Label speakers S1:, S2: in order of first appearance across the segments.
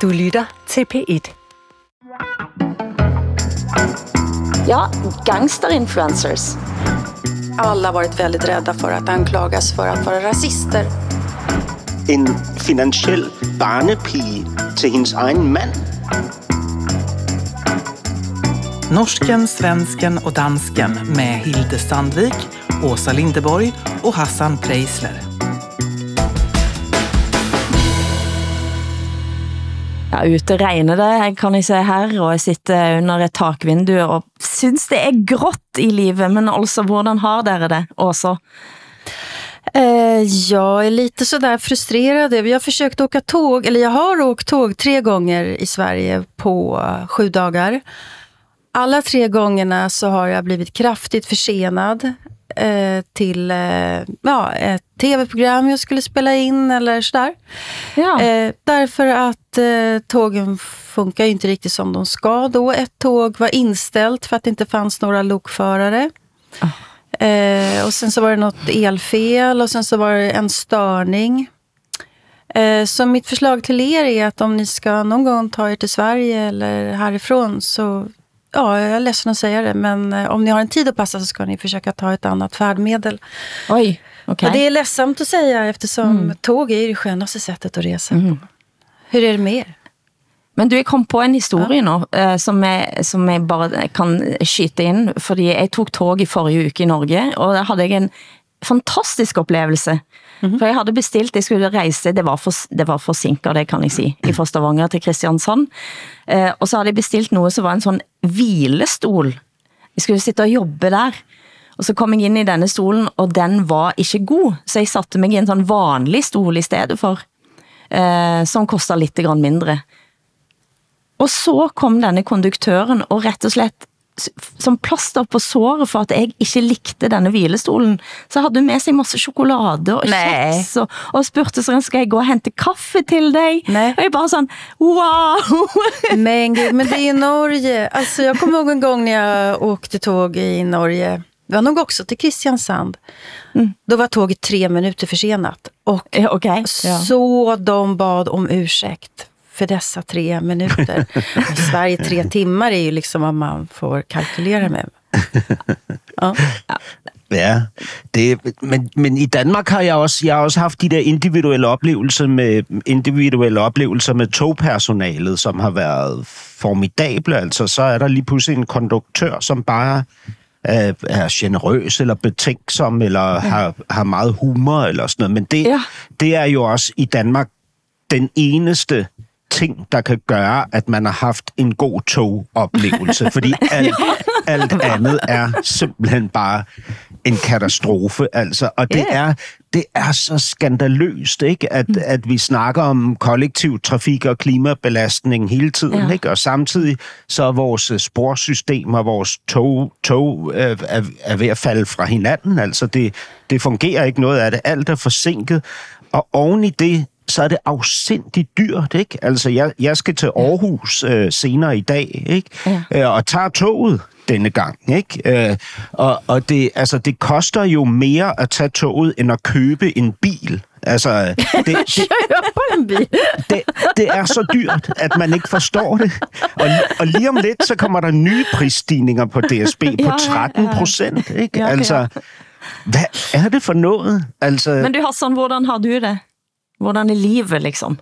S1: Du lytter til P1.
S2: Ja, gangsterinfluencers.
S3: Alla har varit väldigt rädda för att anklagas för att vara rasister.
S4: En finansiel barnepige til hendes egen mand.
S5: Norsken, svensken och dansken med Hilde Sandvik, Åsa Lindeborg och Hassan Preisler.
S2: Ja, ute regner det, kan jeg se her, og jeg sitter under et takvindu og synes det er grått i livet, men altså, hvordan har dere det også?
S3: Jag är lite sådär frustrerad. Vi har försökt åka tåg, eller jag har åkt tåg 3 gånger i Sverige på 7 dagar. Alla 3 gångerna så har jag blivit kraftigt försenad till ett tv-program jag skulle spela in eller sådär.
S2: Ja.
S3: Därför att tågen funkar ju inte riktigt som de ska då. Ett tåg var inställt för att det inte fanns några lokförare. Och sen så var det något elfel och sen så var det en störning. Så mitt förslag till er är att om ni ska någon gång ta er till Sverige eller härifrån så... Ja, jag är ledsen att säga det, men om ni har en tid att passa så ska ni försöka ta ett annat färdmedel.
S2: Oj, okej.
S3: Och det är ledsamt att säga eftersom tåg är det skönaste sättet att resa på. Hur är det med er?
S2: Men du, jeg kom på en historie nå, som jeg bare kan skyte inn, fordi jeg tok tog i forrige uke i Norge, og der hadde jeg en fantastisk oplevelse. For jeg hadde bestilt, jeg skulle reise, det var forsinket, det kan jeg si, fra Stavanger til Kristiansand. Og så hadde jeg bestilt noe som var en sånn hvilestol. Jeg skulle sitte og jobbe der. Og så kom jeg inn i denne stolen, og den var ikke god. Så jeg satte meg i en sånn vanlig stol i stedet for, som kostet litt grann mindre. Og så kom denne konduktøren og rett og slett som plaster på såret for at jeg ikke likte denne hvilestolen, så hadde hun med seg masse sjokolade og kjeks, og spurte så skal jeg gå og hente kaffe til deg?
S3: Nej.
S2: Og jeg bare sånn, wow!
S3: Men det är i Norge. Alltså jag kommer ihåg en gång när jag åkte tåg i Norge. Det var nog också till Kristiansand. Då var tåget 3 minuter försenat. Och så de bad om ursäkt för dessa 3 minuter. I Sverige 3 timmar är ju liksom vad man får kalkylera med.
S4: Ja, men i Danmark har jeg også haft de der individuelle oplevelser med togpersonalet, som har været formidable. Altså, så er der lige pludselig en konduktør, som bare er generøs eller betænksom, eller har meget humor eller sådan noget. Men det er jo også i Danmark den eneste ting, der kan gøre, at man har haft en god togoplevelse, fordi alt andet er simpelthen bare en katastrofe, altså. Og det er så skandaløst, ikke? At vi snakker om kollektiv trafik og klimabelastning hele tiden, ikke? Og samtidig så er vores sporsystem og vores tog er ved at falde fra hinanden, altså. Det fungerer ikke noget af det. Alt er forsinket, og oven i det, så er det afsindigt dyrt, ikke? Altså, jeg skal til Aarhus senere i dag, ikke? Og tager toget denne gang, ikke? Og det koster jo mere at tage toget, end at købe en bil. Altså, det er så dyrt, at man ikke forstår det. Og lige om lidt, så kommer der nye prisstigninger på DSB på 13%, ikke? Altså, hvad er det for noget? Altså...
S2: Men du, Hassan, hvordan har du det? Hvordan er livet, liksom?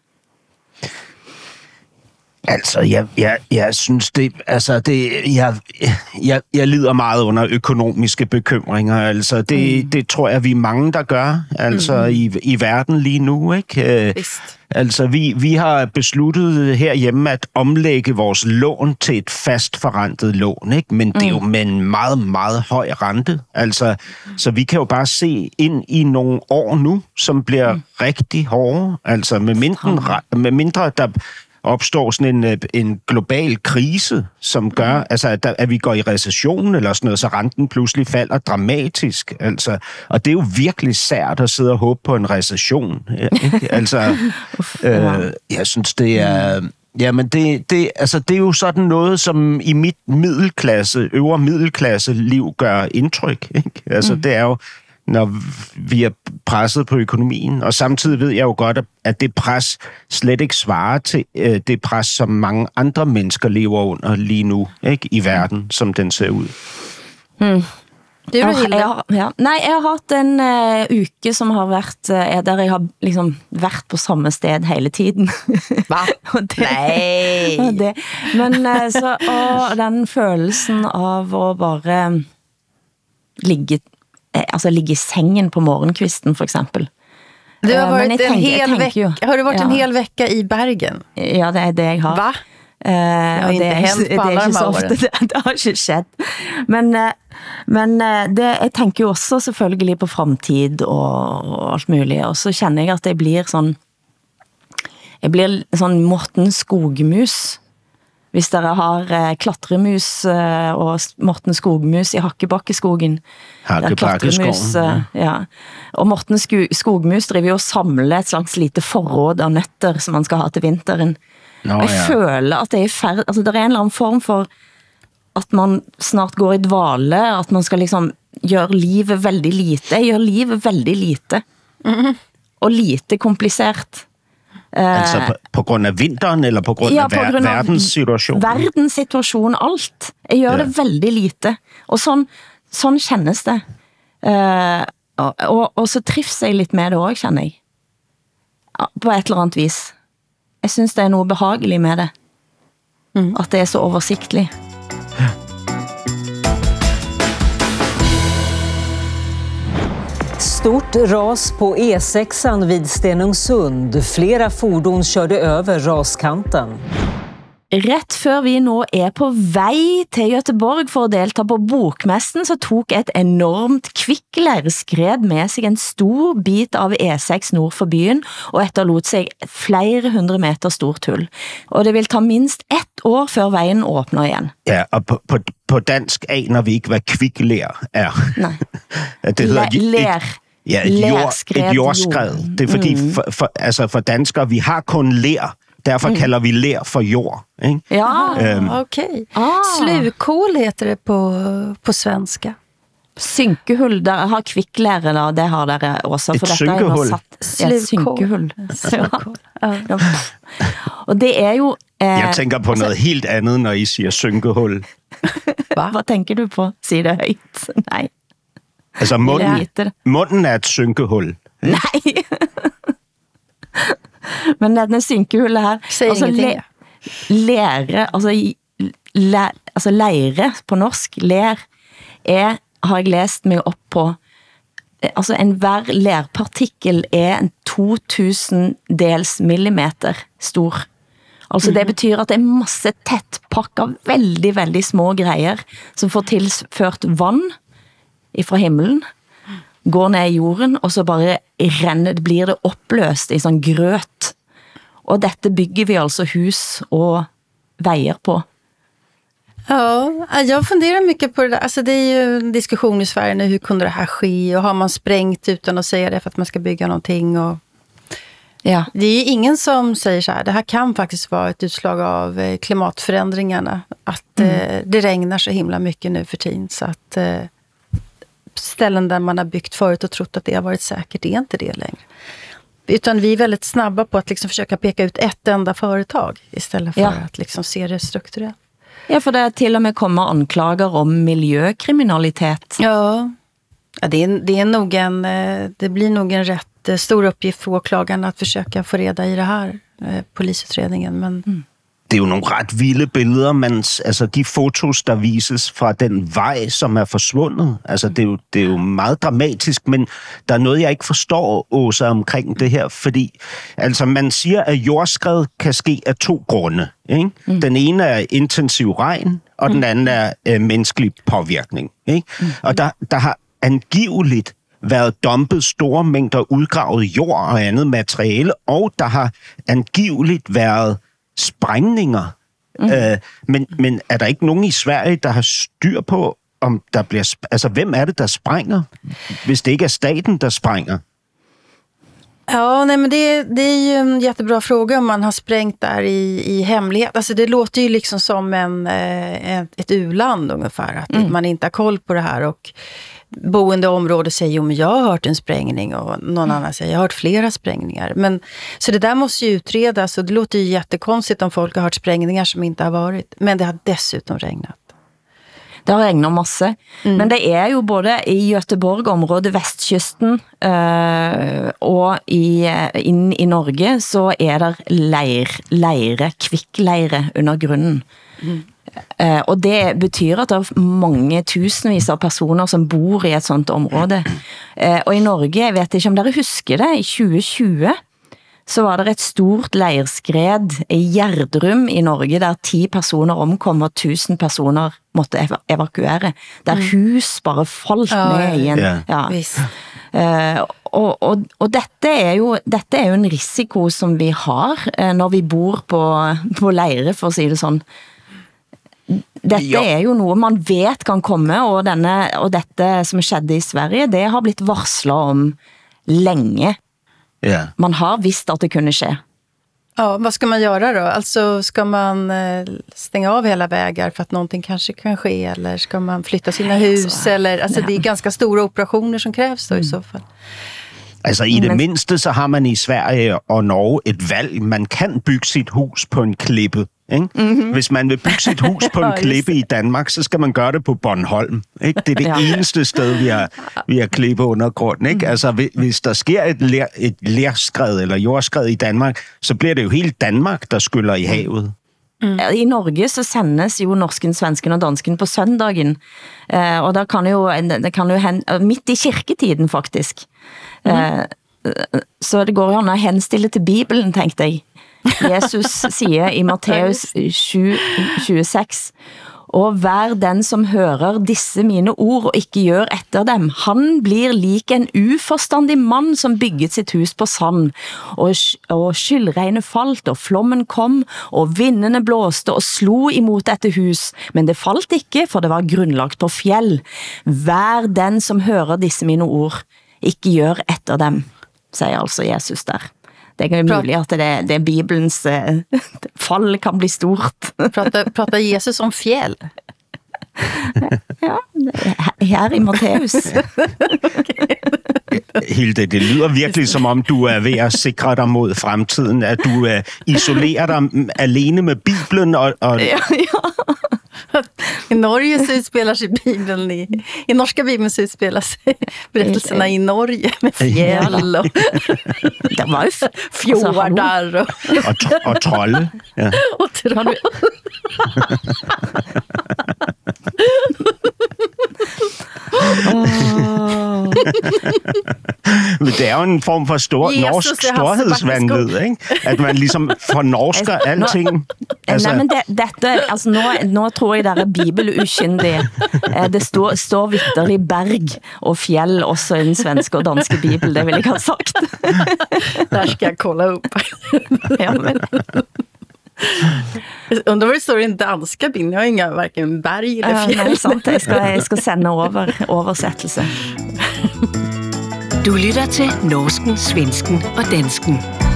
S4: Altså, jeg synes det, altså jeg lider meget under økonomiske bekymringer, altså det tror jeg, vi er mange, der gør, altså i verden lige nu, ikke? Altså, vi har besluttet herhjemme at omlægge vores lån til et fastforrentet lån, ikke? Men det er jo med en meget, meget høj rente. Altså, så vi kan jo bare se ind i nogle år nu, som bliver rigtig hårde. Altså, med mindre der opstår sådan en global krise, som gør, altså, at vi går i recession eller sådan noget, så renten pludselig falder dramatisk. Altså, og det er jo virkelig sært at sidde og håbe på en recession. Ikke? Altså, jeg synes, det er... Jamen, det er jo sådan noget, som i mit øvre middelklasse liv gør indtryk. Ikke? Altså, det er jo når vi er presset på økonomien. Og samtidig ved jeg jo godt, at det pres slet ikke svarer til det pres, som mange andre mennesker lever under lige nu, ikke, i verden, som den ser ud.
S3: Det er jo
S2: Nei, jeg har hatt en uke som har vært, der jeg har liksom vært på samme sted hele tiden.
S3: Hva?
S2: Nei! Men så, og den følelsen av å bare ligge i sengen på morgenkvisten, for eksempel.
S3: Du har varit har du varit en hel vecka i Bergen?
S2: Ja, det er det jeg har.
S3: Va?
S2: Det har ikke hendt på alle de årene. Det har ikke skjedd. Men jeg tenker jo også selvfølgelig på fremtid og alt mulig, og så kjenner jeg at jeg blir sånn Morten Skogmus. Hvis dere har klatremus og Morten Skogmus i Hakkebakkeskogen.
S4: Hakkebakkeskogen,
S2: ja. Og Morten Skogmus driver jo og samler et slags lite forråd av nøtter som man skal ha til vinteren. Og jeg føler at det er altså det er en eller annen form for at man snart går i dvale, at man skal liksom gjøre livet veldig lite. Jeg gjør livet veldig lite. Og lite komplisert.
S4: Altså på grund af vinteren, eller på grund af verdenssituationen?
S2: Verdenssituationen, alt. Jeg gjør det veldig lite. Og sånn kjennes det. Og så trives jeg litt med det også, kjenner jeg. På et eller annet vis. Jeg synes det er noe behagelig med det. At det er så oversiktlig.
S1: Stort ras på E6 vid Stenungsund. Flera fordon körde över raskanten.
S2: Rett før vi nå er på vei til Göteborg for å delta på bokmessen, så tok et enormt kvikkleirskred med seg en stor bit av E6 nord for byen, og etterlot seg flere 100 meter stort hull. Og det vil ta minst 1 år før veien åpner igjen.
S4: Ja, og på dansk aner vi ikke, hvad kvikkleir er.
S2: Nei.
S4: Det hedder et jordskred. Det er fordi, for danskere, vi har kun ler. Derfor kalder vi ler for jord. Ikke?
S3: Ja, okej. Slukhål heter det på svenska.
S2: Synkehull, der har kvikklære da, det har dere også.
S4: Et synkehull?
S2: Synkehull. Ja. Og det er jo...
S4: Jeg tænker på noget helt andet, når I siger synkehull.
S2: Hvad tænker du på? Sig det højt. Nej.
S4: Altså munden er et synkehull.
S2: Nej. Men denne synkehullet her, altså leire på norsk, ler, har jeg læst meg opp på, altså hver lerpartikkel en 2000 dels millimeter stor. Altså det betyr at det masse tettpakket, veldig, veldig små greier, som får tilført vann fra himmelen, går ned i jorden, og så bare blir det oppløst i sånn grøt. Og dette bygger vi altså hus og veier på.
S3: Ja, jag funderar mycket på det där. Alltså det är ju en diskussion i Sverige nu, hur kunde det här ske? Och har man sprängt utan att säga det för att man ska bygga någonting? Och
S2: ja.
S3: Det är ju ingen som säger så här, det här kan faktiskt vara ett utslag av klimatförändringarna. Att det regnar så himla mycket nu för tiden, så att... ställen där man har byggt förut och trott att det har varit säkert, är inte det längre. Utan vi är väldigt snabba på att liksom försöka peka ut ett enda företag istället för att liksom se det strukturellt.
S2: Ja, för det till och med kommer anklager om miljökriminalitet.
S3: Ja, det är nog det blir nog en rätt stor uppgift för åklagarna att försöka få reda i det här polisutredningen, men...
S4: Det er jo nogle ret vilde billeder, men altså de fotos, der vises fra den vej, som er forsvundet, altså det er jo meget dramatisk, men der er noget, jeg ikke forstår, Åsa, omkring det her, fordi altså man siger, at jordskred kan ske af 2 grunde. Ikke? Den ene er intensiv regn, og den anden er menneskelig påvirkning. Ikke? Og der har angiveligt været dumpet store mængder udgravet jord og andet materiale, og der har angiveligt været sprængninger. Men er der ikke nogen i Sverige, der har styr på, om der bliver... Altså, hvem er det, der sprænger, hvis det ikke er staten, der sprænger?
S3: Ja, nej, men det är ju en jättebra fråga om man har sprängt där i hemlighet. Alltså det låter ju liksom som ett u-land ungefär, att man inte har koll på det här. Och boende område säger, jo men jag har hört en sprängning, och någon annan säger, jag har hört flera sprängningar. Men, så det där måste ju utredas, och det låter ju jättekonstigt om folk har hört sprängningar som inte har varit. Men det har dessutom regnat.
S2: Det har regnet masse, men det er jo både i Göteborg-området, vestkysten, og inn i Norge, så er der leire, kvikkleire under grunnen. Og det betyr at det er mange tusenvis av personer som bor i et sånt område. Og i Norge, jeg vet ikke om dere husker det, i 2020, så var det et stort leirskred i Gjerdrum i Norge, der 10 personer omkom og 1000 personer måtte evakuere. Der hus bare falt ned igjen. Ja. Og dette er jo en risiko som vi har når vi bor på leire, for å si det sånn. Dette er jo noe man vet kan komme, og dette som skjedde i Sverige, det har blitt varslet om länge. Yeah. Man har visst att det kunde ske.
S3: Ja, vad ska man göra då? Alltså, ska man stänga av hela vägar för att någonting kanske kan ske, eller ska man flytta sina hus, eller alltså det är ganska stora operationer som krävs då i så fall.
S4: Altså i det mindste, så har man i Sverige og Norge et valg. Man kan bygge sit hus på en klippe. Ikke? Mm-hmm. Hvis man vil bygge sit hus på en klippe i Danmark, så skal man gøre det på Bornholm. Ikke? Det er det eneste sted, vi har klippe under grunden. Ikke? Altså hvis der sker et lerskred eller jordskred i Danmark, så bliver det jo hele Danmark, der skyller i havet.
S2: I Norge så sendes jo norsken, svensken og dansken på søndagen, og det kan jo hende, midt i kirketiden faktisk. Så det går jo an å henstille til Bibelen, tenkte jeg. Jesus sier i Matteus 7:26, og vær den som hører disse mine ord og ikke gjør etter dem. Han blir lik en uforstandig mann som bygget sitt hus på sand, og skyldregnet falt, og flommen kom, og vindene blåste og slo imot dette hus, men det falt ikke, for det var grunnlagt på fjell. Vær den som hører disse mine ord, ikke gjør etter dem, sier altså Jesus der. Det er mulig at det er Bibelens fall kan bli stort.
S3: Pratar Jesus om fjäll?
S2: Ja, her i Matteus.
S4: Hilde, det lyder virkelig som om du er ved at sikre dig mod fremtiden, at du isolerer dig alene med Bibelen og...
S3: Ja. I Norge så utspelar sig Bibeln i norska Bibeln så utspelar sig berättelserna i Norge med fjäll och
S2: det var ju
S3: fjordar
S4: och troll. Ja.
S3: Och troll.
S4: Men det er jo en form for norsk storhedsvandvid, ikke? At man ligesom fornorsker alting.
S2: Altså... Nej, men dette, altså nå tror jeg der er bibeluskyndige. Det står vitterlig berg og fjell også i den svenske og danske bibel, det vil jeg ha sagt.
S3: Der skal jeg kolla upp.
S2: Ja, men...
S3: Undrar vad det står i den danska bilden. Jag har inga varken berg eller fjäll.
S2: Nej, sant. Jeg skal sende oversættelse.
S6: Du lytter til norsken, svensken og dansken.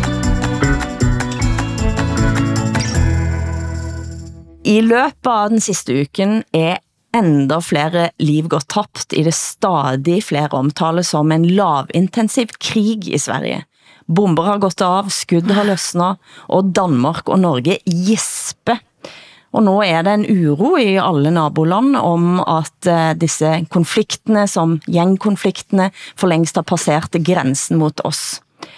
S2: I løpet av den siste uken er enda flere liv gått tapt i det stadig flere omtales som en lavintensiv krig i Sverige. Bomber har gått av, skudd har løsnet, og Danmark og Norge gisper. Og nå er det en uro i alle naboland om at disse konfliktene, som gjengkonfliktene, for lengst har passert grensen mot oss.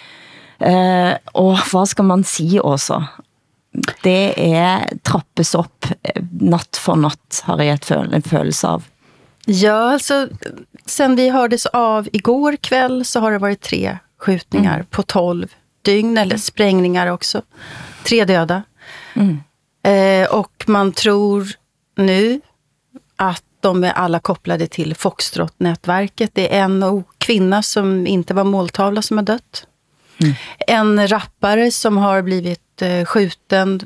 S2: Og hva skal man si også? Det trappes opp natt for natt, har jeg en følelse av.
S3: Ja, alltså sen vi hördes av igår kväll så har det varit 3 skjutningar på 12 dygn, eller sprängningar också. 3 döda. Och man tror nu att de är alla kopplade till Foxtrot-nätverket. Det är en kvinna som inte var måltavla som har dött. En rappare som har blivit skjuten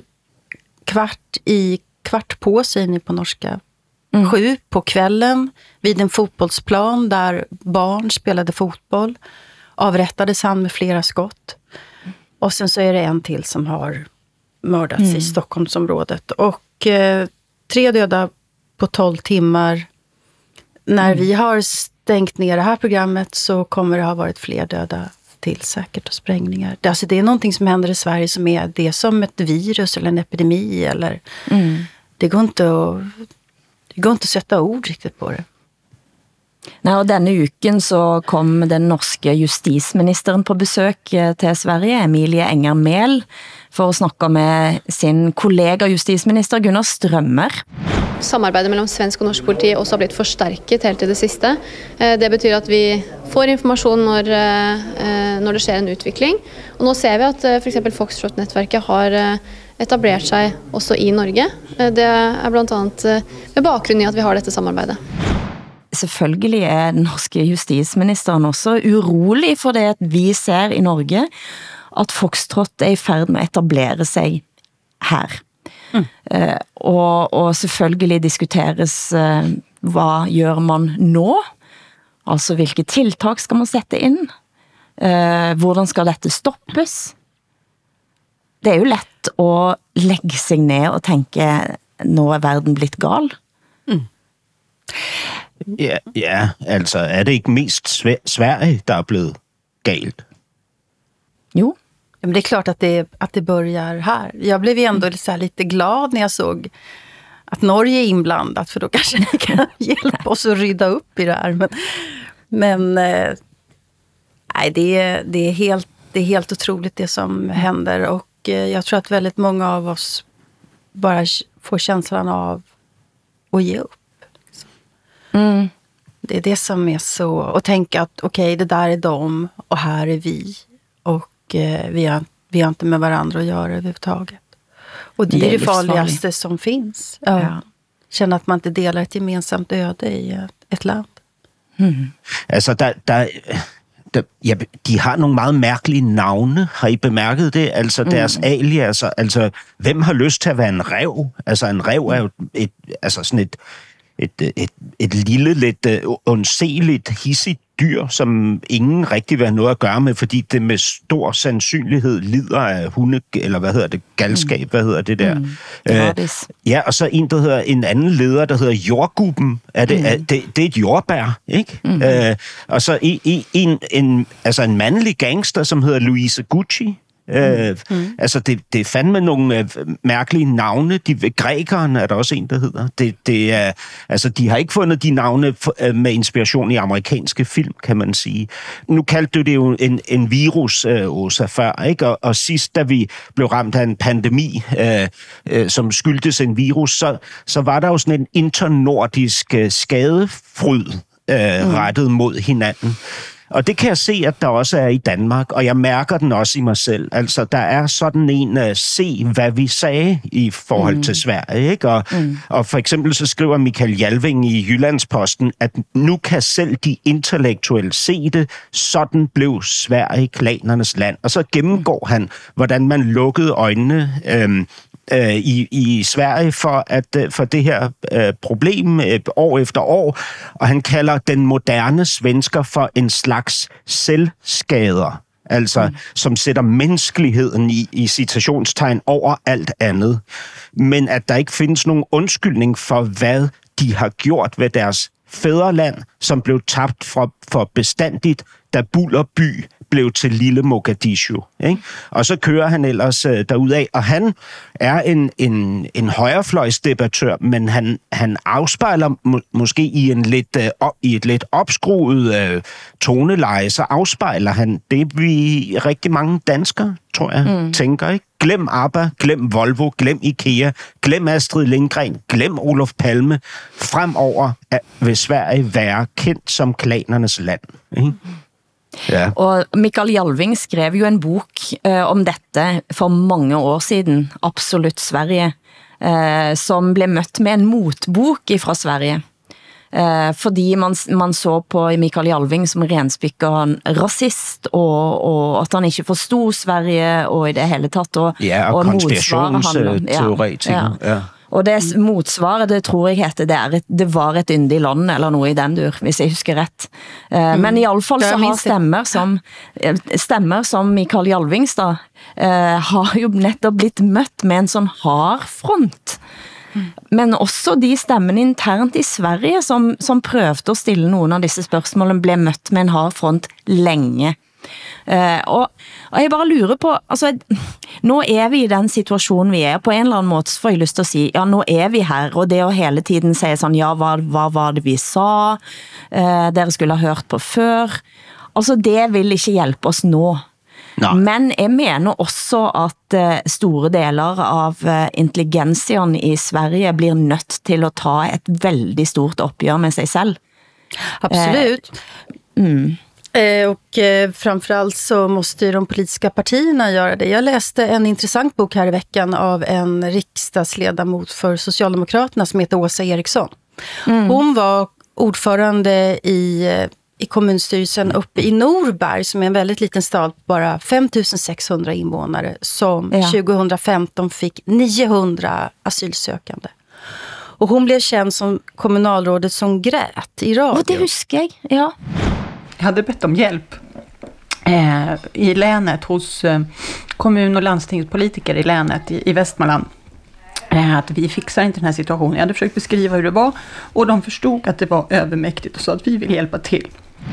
S3: kvart på, säger ni på norska. 7 på kvällen vid en fotbollsplan där barn spelade fotboll. Avrättades han med flera skott. Och sen så är det en till som har mördats i Stockholmsområdet. Och 3 döda på 12 timmar. När vi har stängt ner det här programmet så kommer det ha varit fler döda till säkert och sprängningar. Alltså det är någonting som händer i Sverige som är det som ett virus eller en epidemi. Eller, det går inte att sätta ord riktigt på det.
S2: Nej, og denne uken så kom den norske justisministeren på besøk til Sverige, Emilie Enger Mehl, for at snakke med sin kollega justisminister Gunnar Strømmer.
S7: Samarbejdet mellem svensk og norsk politi også har blitt forstærket helt til det sidste. Det betyder at vi får information, når det sker en utvikling. Og nå ser vi at for eksempel Foxtrot-nettverket har etableret sig også i Norge. Det er blandt andet med bakgrund i at vi har dette samarbejdet.
S2: Selvfølgelig er den norske justisministeren også urolig for det, at vi ser i Norge, at Foxtrot er i færd med at etablere sig her. Og selvfølgelig diskuteres, hvad gør man nå? Altså, hvilke tiltak skal man sætte ind? Hvordan skal dette stoppes? Det er jo let at lægge sig ned og tænke, nå er verden blitt gal.
S4: Ja, altså er det ikke mest Sverige, der er blevet galt?
S2: Jo.
S3: Men det är klart att det börjar här. Jag blev ändå lite glad när jag såg att Norge är inblandat, för då kanske ni kan hjälpa oss att rydda upp i det här. Men nej, det är helt otroligt det som händer, och jag tror att väldigt många av oss bara får känslan av att ge upp. Det är det som är så, och tänka att okej, det där är dem och här är vi, och vi har inte med varandra att göra överhuvudtaget. Och det är det farligaste som finns. Ja. Känna att man inte delar ett gemensamt öde i ett land.
S4: Altså, de har nogle meget mærkelige navne. Har I bemærket det? Altså, deres aliaser. Altså, hvem har lyst til at være en ræv? Altså, en ræv er jo et lille, lidt undseligt, hissigt dyr, som ingen rigtig vil have noget at gøre med, fordi det med stor sandsynlighed lider af galskab, hvad hedder det der? Ja, og så en anden leder, der hedder Jordgubben. Det er et jordbær, ikke? Og så en mandlig gangster, som hedder Louise Gucci. Altså det er fandme nogle mærkelige navne. Grækeren er der også en, der hedder. Det er, altså de har ikke fundet de navne med inspiration i amerikanske film, kan man sige. Nu kaldte du det jo en virus, Åsa, før, ikke? Og sidst, da vi blev ramt af en pandemi, som skyldtes en virus, så var der jo sådan en internordisk skadefryd rettet mod hinanden. Og det kan jeg se, at der også er i Danmark, og jeg mærker den også i mig selv. Altså, der er sådan en se, hvad vi sagde i forhold til Sverige, ikke? Og for eksempel så skriver Michael Jalving i Jyllandsposten, at nu kan selv de intellektuelle se det, sådan blev Sverige klanernes land. Og så gennemgår han, hvordan man lukkede øjnene i Sverige for det her problem år efter år, og han kalder den moderne svensker for en slags selvskader, altså som sætter menneskeligheden i citationstegn over alt andet, men at der ikke findes nogen undskyldning for, hvad de har gjort ved deres fædreland, som blev tabt for bestandigt, da Bullerby blev til lille Mogadishu. Ikke? Og så kører han ellers derudad, og han er en højrefløjsdebattør, men han afspejler måske i et lidt opskruet toneleje, så afspejler han det, vi rigtig mange danskere, tror jeg, tænker, ikke? Glem ABBA, glem Volvo, glem IKEA, glem Astrid Lindgren, glem Olof Palme. Fremover vil Sverige være kendt som klanernes land. Ikke? Ja.
S2: Og Michael Jalving skrev jo en bok om dette for mange år siden, Absolut Sverige, som blev mødt med en motbok fra Sverige. Fordi man så på Michael Jalving som renspikket rasist, og at han ikke forstod Sverige, og i det hele tatt. Og
S4: konspirationsteoretiker. Ja.
S2: Og det motsvaret, det tror jeg heter, det var et yndig land, eller noe i den dur, hvis jeg husker ret. Men i alle fall så har stemmer som Michael Jalvings da, har jo nettopp blitt mødt med en sånn hard front. Men også de stemmene internt i Sverige, som prøvde at stille nogle af disse spørgsmålene, blev mødt med en hard front længe. Og jeg bare lurer på, altså, nu er vi i den situation vi er, på en eller anden måde, får jeg lyst til at sige, ja, nu er vi her, og det at hele tiden sige sådan, ja, hvad var det vi sa, dere skulle have hørt på før, altså det vil ikke hjælpe os nu. Nej. Men jeg mener også at store deler av intelligensien i Sverige blir nødt til at ta et veldig stort opgør med sig selv.
S3: Absolut. Och framförallt så måste ju de politiska partierna göra det. Jag läste en intressant bok här i veckan av en riksdagsledamot för Socialdemokraterna som heter Åsa Eriksson. Hon var ordförande i kommunstyrelsen uppe i Norberg, som är en väldigt liten stad, bara 5600 invånare, som 2015 fick 900 asylsökande. Och hon blev känd som kommunalrådet som grät i radio.
S2: Och det huskar jag, ja.
S8: Jag hade bett om hjälp i länet hos kommun- och landstingspolitiker i länet i Västmanland. Att vi fixar inte den här situationen. Jag hade försökt beskriva hur det var och de förstod att det var övermäktigt och sa att vi vill hjälpa till.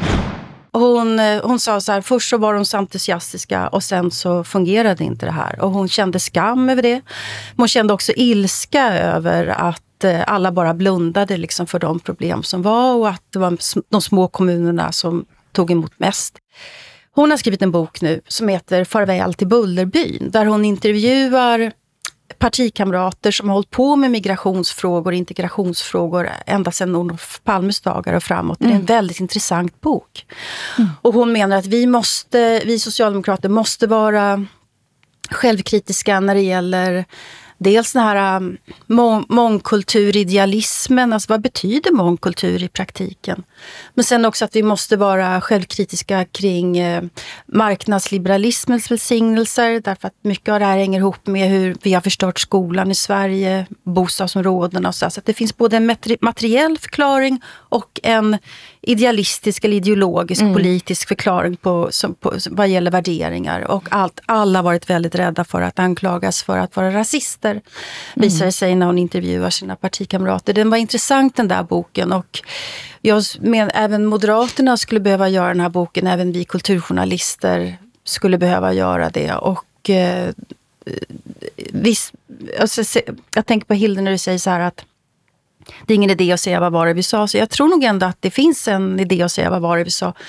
S3: Hon sa så här, först så var de så entusiastiska och sen så fungerade inte det här. Och hon kände skam över det. Men hon kände också ilska över att alla bara blundade liksom för de problem som var och att det var de små kommunerna som tog emot mest. Hon har skrivit en bok nu som heter Farväl till Bullerbyn, där hon intervjuar partikamrater som har hållit på med migrationsfrågor och integrationsfrågor ända sedan Olof Palmes dagar och framåt. Det är en väldigt intressant bok. Och hon menar att vi socialdemokrater måste vara självkritiska när det gäller dels den här mångkulturidealismen, alltså vad betyder mångkultur i praktiken? Men sen också att vi måste vara självkritiska kring marknadsliberalismens välsignelser, därför att mycket av det här hänger ihop med hur vi har förstört skolan i Sverige, bostadsområdena och så att det finns både en materiell förklaring och en idealistisk eller ideologisk politisk förklaring på vad gäller värderingar, och alla har varit väldigt rädda för att anklagas för att vara rasister, visar det sig när hon intervjuar sina partikamrater. Den var intressant, den där boken, och jag menar även Moderaterna skulle behöva göra den här boken, även vi kulturjournalister skulle behöva göra det. Och visst, alltså, jag tänker på Hilde när du säger så här att det är ingen idé att säga vad var det vi sa. Så jag tror nog ändå att det finns en idé att säga vad var det vi sa.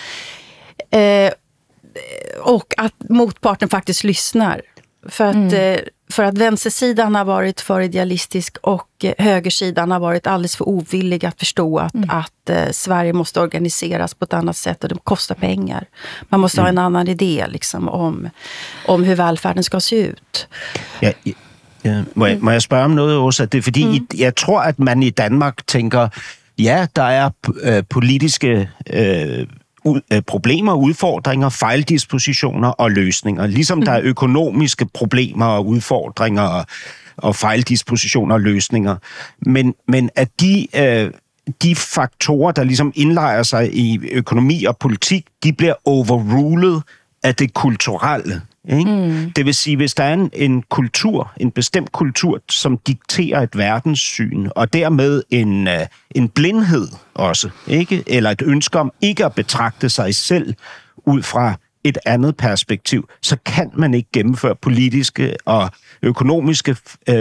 S3: Och att motparten faktiskt lyssnar. För att vänstersidan har varit för idealistisk och högersidan har varit alldeles för ovillig att förstå att Sverige måste organiseras på ett annat sätt och det kostar pengar. Man måste ha en annan idé liksom, om hur välfärden ska se ut.
S4: Ja, må jeg spørge om noget også? Det er fordi, jeg tror, at man i Danmark tænker, ja, der er politiske problemer, udfordringer, fejldispositioner og løsninger. Ligesom der er økonomiske problemer og udfordringer og fejldispositioner og løsninger. Men at de faktorer, der ligesom indlejrer sig i økonomi og politik, de bliver overrulet af det kulturelle. Ikke? Det vil sige, hvis der er en kultur, en bestemt kultur, som dikterer et verdenssyn, og dermed en blindhed også, ikke? Eller et ønske om ikke at betragte sig selv ud fra et andet perspektiv, så kan man ikke gennemføre politiske og økonomiske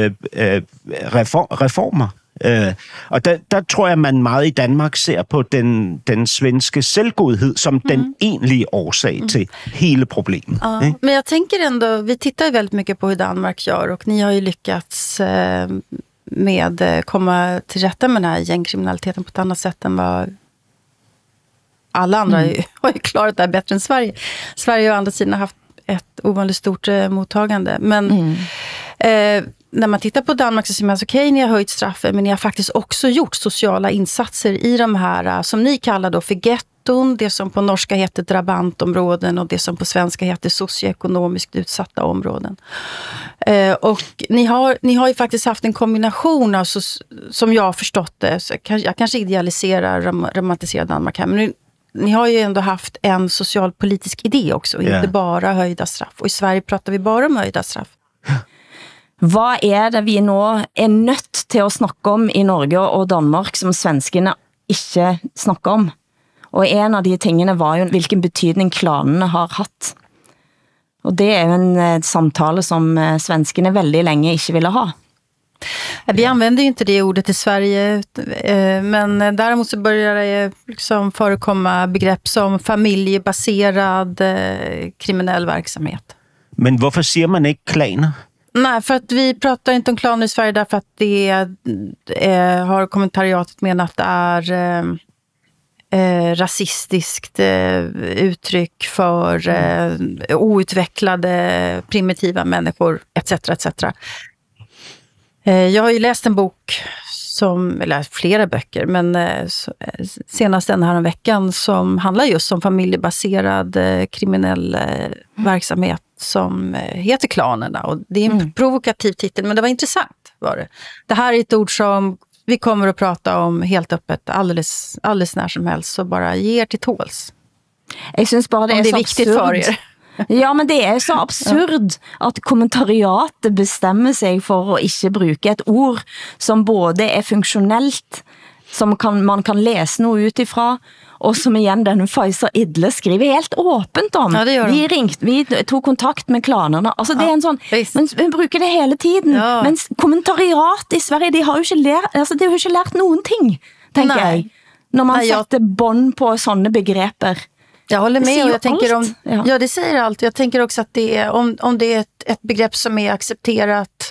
S4: reformer. Og der tror jeg, man meget i Danmark ser på den svenske selvgodhed som den egentlige årsag till hela problemet.
S3: Ja, men jag tänker ändå, vi tittar ju väldigt mycket på hur Danmark gör, och ni har ju lyckats med komma till rätta med den här gängkriminaliteten på ett annat sätt än vad alla andra har ju klarat det här bättre än Sverige. Sverige å andra sidan har haft ett ovanligt stort mottagande, men när man tittar på Danmark så ser man att okej, ni har höjt straffen, men ni har faktiskt också gjort sociala insatser i de här som ni kallar då för getton, det som på norska heter drabantområden och det som på svenska heter socioekonomiskt utsatta områden. Och ni har ju faktiskt haft en kombination, alltså, som jag har förstått det, så jag kanske idealiserar, romantiserar Danmark här, men ni har ju ändå haft en socialpolitisk idé också, inte bara höjda straff. Och i Sverige pratar vi bara om höjda straff.
S2: Hvad det vi nå nødt til at snakke om i Norge og Danmark, som svenskene ikke snakker om? Og en av de tingene var jo, hvilken betydning klanene har hatt. Og det jo en samtale som svenskene väldigt länge ikke ville ha.
S3: Vi använder ju inte det ordet i Sverige, men däremot så börjar det liksom förekomma begrepp som familjebaserad kriminell verksamhet.
S4: Men hvorfor siger man ikke klaner?
S3: Nej, för att vi pratar inte om klaner i Sverige därför att det har kommentariatet menat att det är rasistiskt uttryck för outvecklade primitiva människor etc. etc. Jag har ju läst en bok eller flera böcker, men senast den här en veckan som handlar just om familjebaserad kriminell verksamhet som heter Klanerna. Och det är en provokativ titel, men det var intressant var det. Det här är ett ord som vi kommer att prata om helt öppet alldeles när som helst, så bara ge er till tåls.
S2: Jag syns bara det är så
S3: viktigt för er.
S2: Ja, men det så absurd at kommentariatet bestemmer sig for at ikke bruke et ord som både funktionellt, som man kan læse noe utifra, og som igen denne Faisal Idle skriver helt åpent om.
S3: Ja,
S2: vi tog kontakt med klanerne. Altså det en sånn, men vi bruker det hele tiden. Ja. Men kommentariat i Sverige, de har jo ikke lært noen ting, tenker jeg. Når man setter bånd på sånne begreper.
S3: Jag håller med, och jag tänker ja, det säger allt. Jag tänker också att det är, om det är ett begrepp som är accepterat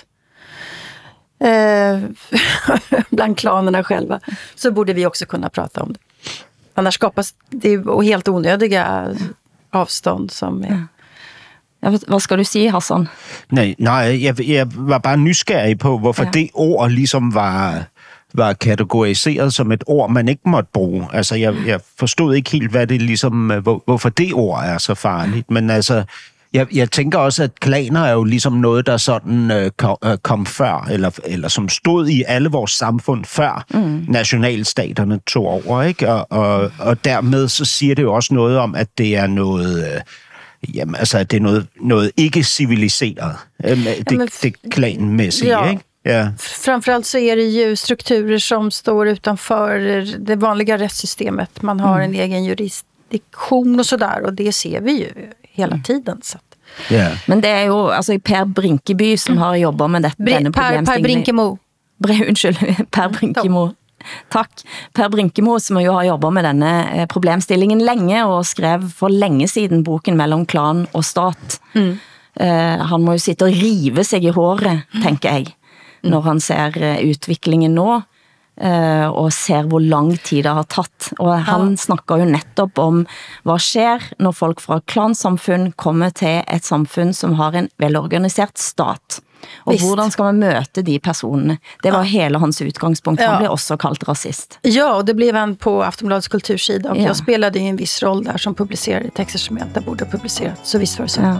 S3: bland klanerna själva, så borde vi också kunna prata om det. Annars skapas det helt onödiga avstånd som är...
S2: Ja, hvad skal du sige, Hassan?
S4: Nej, jeg var bare nysgerrig på, hvorfor det ord ligesom var kategoriseret som et ord, man ikke måtte bruge. Altså, jeg forstod ikke helt, hvad det ligesom, hvorfor det ord så farligt. Men altså, jeg tænker også, at klaner jo ligesom noget, der sådan kom før, eller som stod i alle vores samfund før nationalstaterne tog over, ikke? Og dermed så siger det jo også noget om, at det er noget... Jamen, altså, det er noget ikke civiliseret. Det klanmæssige, ikke? Ja.
S3: Framförallt så är det ju strukturer som står utanför det vanliga rättssystemet. Man har en egen jurisdiktion och sådär, och det ser vi ju hela tiden. Så att.
S2: Yeah. Men det är ju alltså Per Brinkeby som har jobbat med denne problemstillingen.
S3: Per Brinkemo.
S2: Unnskyld, Per Brinkemo. Takk. Per Brinkemo, som jo har jobbet med denne problemstillingen længe, og skrev for længe siden boken Mellom klan og stat. Han må jo sitte og rive sig i håret, tænker jeg, når han ser utviklingen nå, og ser hvor lang tid det har tatt. Og han snakker jo netop om, hvad sker når folk fra klansamfund kommer til et samfund, som har en velorganiseret stat. Og hvordan skal man møte de personene? Det var hele hans utgangspunkt. Han blev også kaldt rasist.
S3: Ja, och det blev han på Aftonbladets kultursida. Och jag spelade ju en viss roll där som publicerade texter som jag inte borde ha publicerat. Så visst var det så. Ja.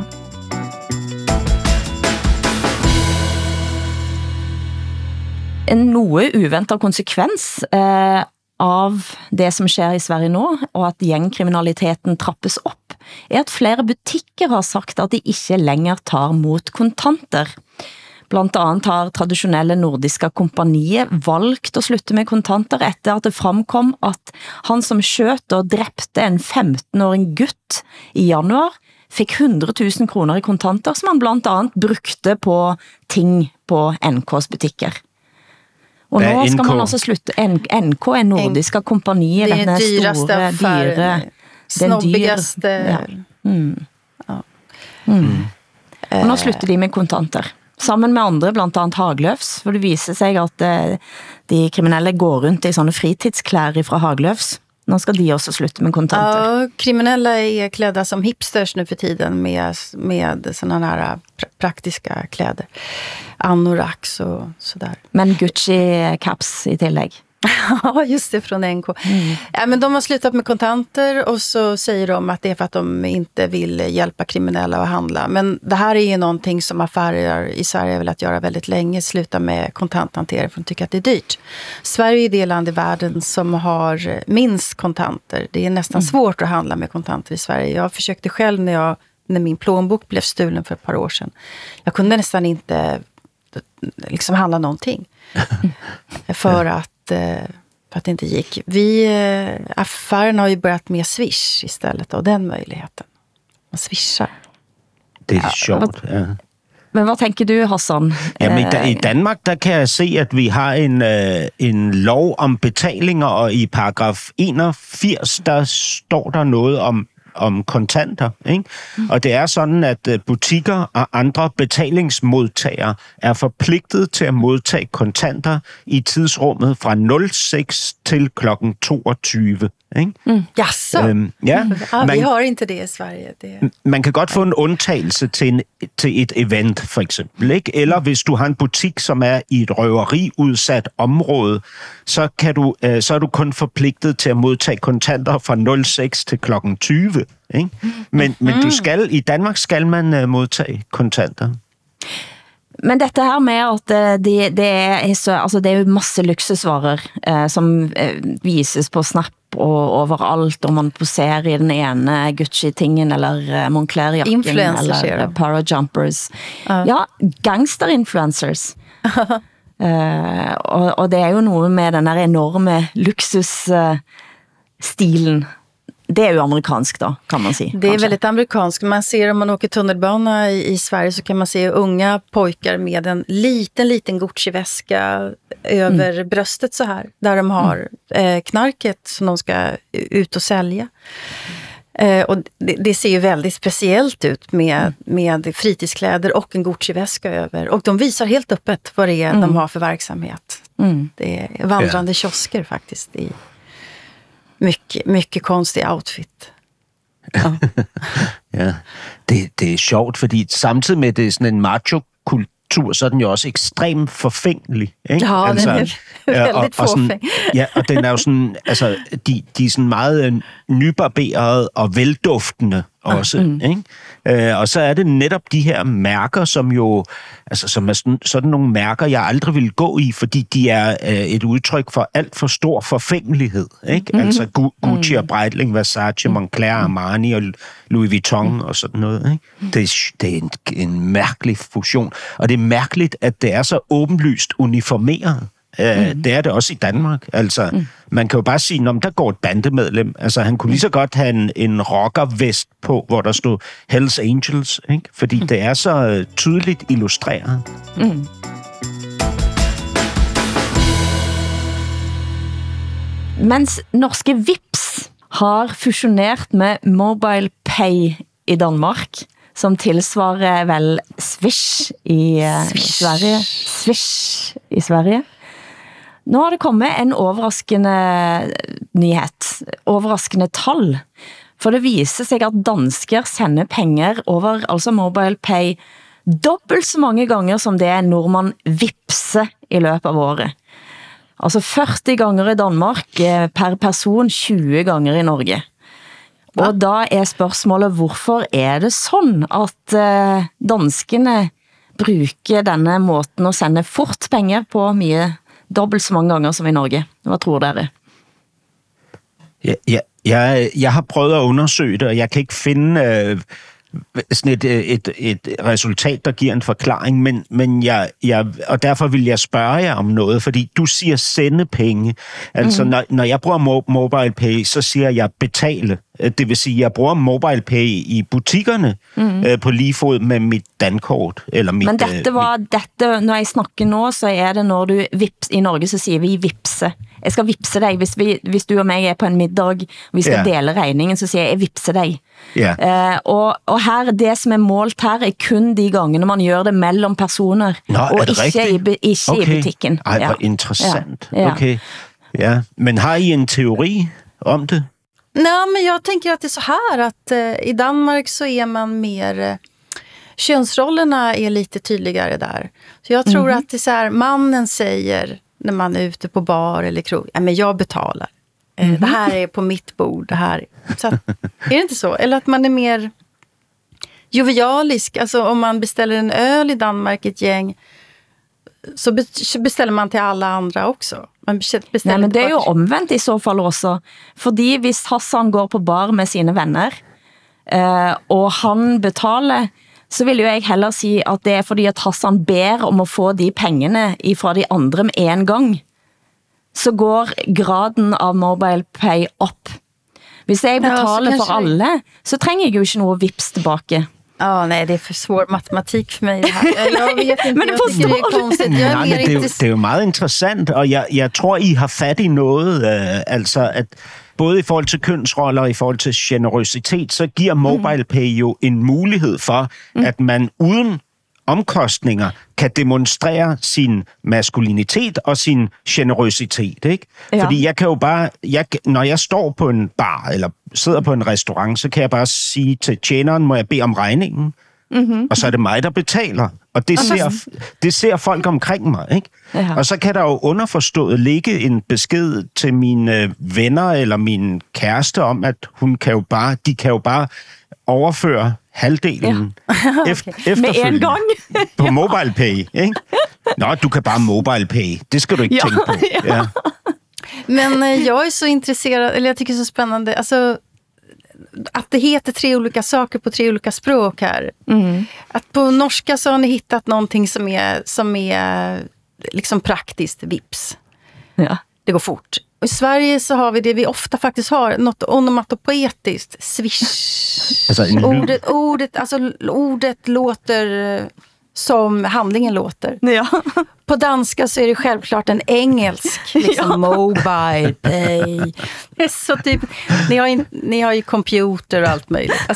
S2: En noe uventet konsekvens av det som sker i Sverige nå, og at gjengkriminaliteten trappes opp, at flere butikker har sagt at de ikke lenger tar mot kontanter. Blant annet har traditionelle nordiske kompaniet valgt å slutte med kontanter etter at det framkom at han som skjøt og drepte en 15-årig gutt i januar fikk 100 000 kroner i kontanter som han blant annet brukte på ting på NKs butikker. Og nå skal man altså slutte. NK er nordiske kompaniet,
S3: det er dyraste affæren, snobbigaste.
S2: Og nå slutter de med kontanter. Sammen med andre, blant annet Hagløfs, for det viser sig at de kriminelle går rundt i sånne fritidsklær fra Hagløfs. Nå skal de også slutte med kontanter.
S3: Ja, kriminella är klädda som hipsters nu för tiden med sådana här praktiska kläder. Anoraks och sådär.
S2: Men Gucci-caps i tillägg.
S3: Ja, just det, från NK. Ja, men de har slutat med kontanter och så säger de att det är för att de inte vill hjälpa kriminella att handla. Men det här är ju någonting som affärer i Sverige har velat göra väldigt länge. Sluta med kontanthantering för de tycker att det är dyrt. Sverige är det land i världen som har minst kontanter. Det är nästan svårt att handla med kontanter i Sverige. Jag försökte själv när min plånbok blev stulen för ett par år sedan. Jag kunde nästan inte liksom handla någonting. för att det inte gick. Affären har ju börjat med Swish istället av den möjligheten. Man swishar.
S4: Det er sjovt, ja.
S2: Men hvad tænker du, Hassan?
S4: Jamen, i Danmark, der kan jeg se, at vi har en lov om betalinger, og i paragraf 81, der står der noget om kontanter, ikke? Og det er sådan, at butikker og andre betalingsmodtagere er forpligtet til at modtage kontanter i tidsrummet fra 06 til klokken 22. Ikke?
S3: Jaså?
S4: Ja,
S3: vi har ikke det i Sverige.
S4: Man kan godt få en undtagelse til et event, for eksempel. Ikke? Eller hvis du har en butik, som er i et røveriudsat område, så er du kun forpligtet til at modtage kontanter fra 06 til klokken 20. Ikke? Men i Danmark skal man modtage kontanter.
S2: Men dette her med at det er jo masse luksusvarer som vises på Snap og overalt, og man poserer i den ene Gucci-tingen, eller Moncler-jakken, eller Parajumpers. Ja, gangster-influencers. og det er jo noe med den her enorme luksusstilen. Det är ju amerikanskt då, kan man säga.
S3: Det är väldigt amerikanskt. Man ser om man åker tunnelbana i Sverige så kan man se unga pojkar med en liten Gucci-väska över bröstet så här. Där de har knarket som de ska ut och sälja. Och det ser ju väldigt speciellt ut med fritidskläder och en Gucci-väska över. Och de visar helt öppet vad det är de har för verksamhet. Det är vandrande kiosker faktiskt i mycket konstig outfit.
S4: Ja. Ja. Det er sjovt, fordi samtidig med det er sådan en macho-kultur, så er den jo også ekstremt forfængelig. Ikke?
S3: Ja, den er veldig forfæng.
S4: Ja, og den er jo sådan, altså, de er sådan meget nybarberede og velduftende også, ikke? Og så er det netop de her mærker, som jo, altså som er sådan nogle mærker, jeg aldrig vil gå i, fordi de er et udtryk for alt for stor forfængelighed, ikke? Altså Gucci og Breitling, Versace, Moncler, Armani og Louis Vuitton og sådan noget, ikke? Det er en mærkelig fusion, og det er mærkeligt, at det er så åbenlyst uniformeret. Det er det også i Danmark. Altså, man kan jo bare sige, der går et bandemedlem. Altså, han kunne lige så godt have en rockervest på, hvor der stod Hells Angels, ikke? Fordi det er så tydeligt illustreret.
S2: Mens norske Vipps har fusionert med Mobile Pay i Danmark, som tilsvarer vel Swish i Sverige. Swish i Sverige. Nu har det kommet en overraskende nyhet, overraskende tal. For det viser sig, at dansker sender penger over, altså Mobile Pay, dobbelt så mange ganger som det nordmann vipser i løbet av året. Altså 40 ganger i Danmark per person, 20 ganger i Norge. Og da spørgsmålet, hvorfor det sådan, at danskerne bruger denne måten at sende fort penger på mye dobbelt så mange ganger som i Norge? Hvad tror dere?
S4: Jeg har prøvet at undersøge det, og jeg kan ikke finde sådan et resultat, der giver en forklaring, men og derfor vil jeg spørge jer om noget, fordi du siger sende penge. Altså, når jeg bruger Mobile Pay, så siger jeg betale. Det vil sige, jeg bruger Mobile Pay i butikkerne på lige fod med mit dankort. Eller mit,
S2: men dette, når jeg snakker nå, så det når du vips, i Norge, så siger vi vipse. Jeg skal vipse dig, hvis du og mig på en middag, og vi skal dele regningen, så siger jeg vipse dig. Og her, det som målt her, kun de gangene man gør det mellem personer, og ikke i butikken.
S4: Ej, hvor interessant. Okay. Ja. Men har I en teori om det?
S3: Nej, men jag tänker att det är så här att i Danmark så man mer könsrollerna lite tydligare där. Så jag tror att det är så här, mannen säger när man är ute på bar eller krog, men jag betalar. Det här är på mitt bord, det här. Så att, det inte så? Eller att man är mer jovialisk, alltså om man beställer en öl i Danmark ett gäng, så beställer man till alla andra också.
S2: Nej, men det er jo omvendt i så fall også. Fordi hvis Hassan går på bar med sine venner, og han betaler, så vil jo jeg heller si at det fordi at Hassan ber om å få de pengene fra de andre med en gang, så går graden av MobilePay opp. Hvis jeg betaler for alle, så trenger jeg jo ikke noe vips tilbake.
S3: Ja, nej, det är för svår matematik för mig det här. Jag vet inte,
S2: men
S3: jag tycker det är konstigt.
S4: Det er jo meget interessant, og jeg tror, I har fat i noget, altså at både i forhold til kønsroller og i forhold til generøsitet, så giver MobilePay jo en mulighed for, at man uden omkostninger kan demonstrere sin maskulinitet og sin generøsitet, ikke? Ja. Fordi jeg kan jo bare, når jeg står på en bar eller sidder på en restaurant, så kan jeg bare sige til tjeneren, må jeg bede om regningen? Og så er det mig, der betaler. Og det ser folk omkring mig, ikke? Ja. Og så kan der jo underforstået ligge en besked til mine venner eller min kæreste om, at de kan jo bare overføre halvdelen efterfølgende på MobilePay, ikke? Nå, du kan bare MobilePay. Det skal du ikke tænke på. Ja.
S3: Men jag är så intresserad, eller jag tycker det är så spännande, alltså att det heter 3 olika saker på 3 olika språk här. Att på norska så har ni hittat någonting som är liksom praktiskt, vips.
S2: Ja.
S3: Det går fort. Och i Sverige så har vi det vi ofta faktiskt har, något onomatopoetiskt, swish.
S4: Alltså
S3: ordet låter som handlingen låter.
S2: Ja.
S3: På danska så är det självklart en engelsk, liksom mobile pay. Så typ, ni har ju computer och allt möjligt.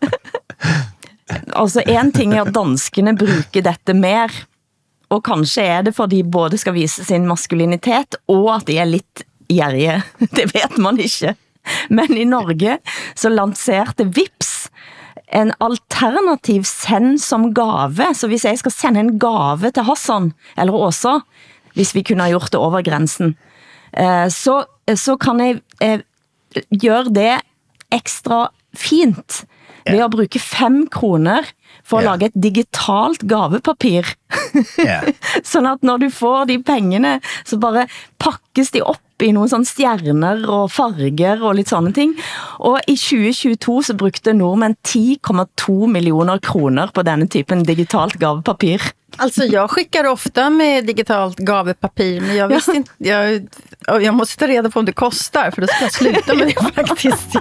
S2: Altså en ting er at danskene bruger dette mer, og kanskje er det fordi de både skal vise sin maskulinitet, og at de er litt gjerrige. Det vet man ikke. Men i Norge så lanserte Vips en alternativ send som gave. Så hvis jeg skal sende en gave til Hassan, eller Åsa, hvis vi kunne ha gjort det over grensen, så kan jeg gjøre det ekstra fint ved å bruke 5 kroner for å lage et digitalt gavepapir. Sånn at når du får de pengene, så bare pakkes de opp i noen sånne stjerner og farger og litt sånne ting. Og i 2022 så brukte nordmenn 10,2 millioner kroner på denne typen digitalt gavepapir.
S3: Alltså jag skickar ofta med digitalt gavepapir, men jag visste inte, jag måste ta reda på om det kostar, för då ska jag sluta med det faktiskt.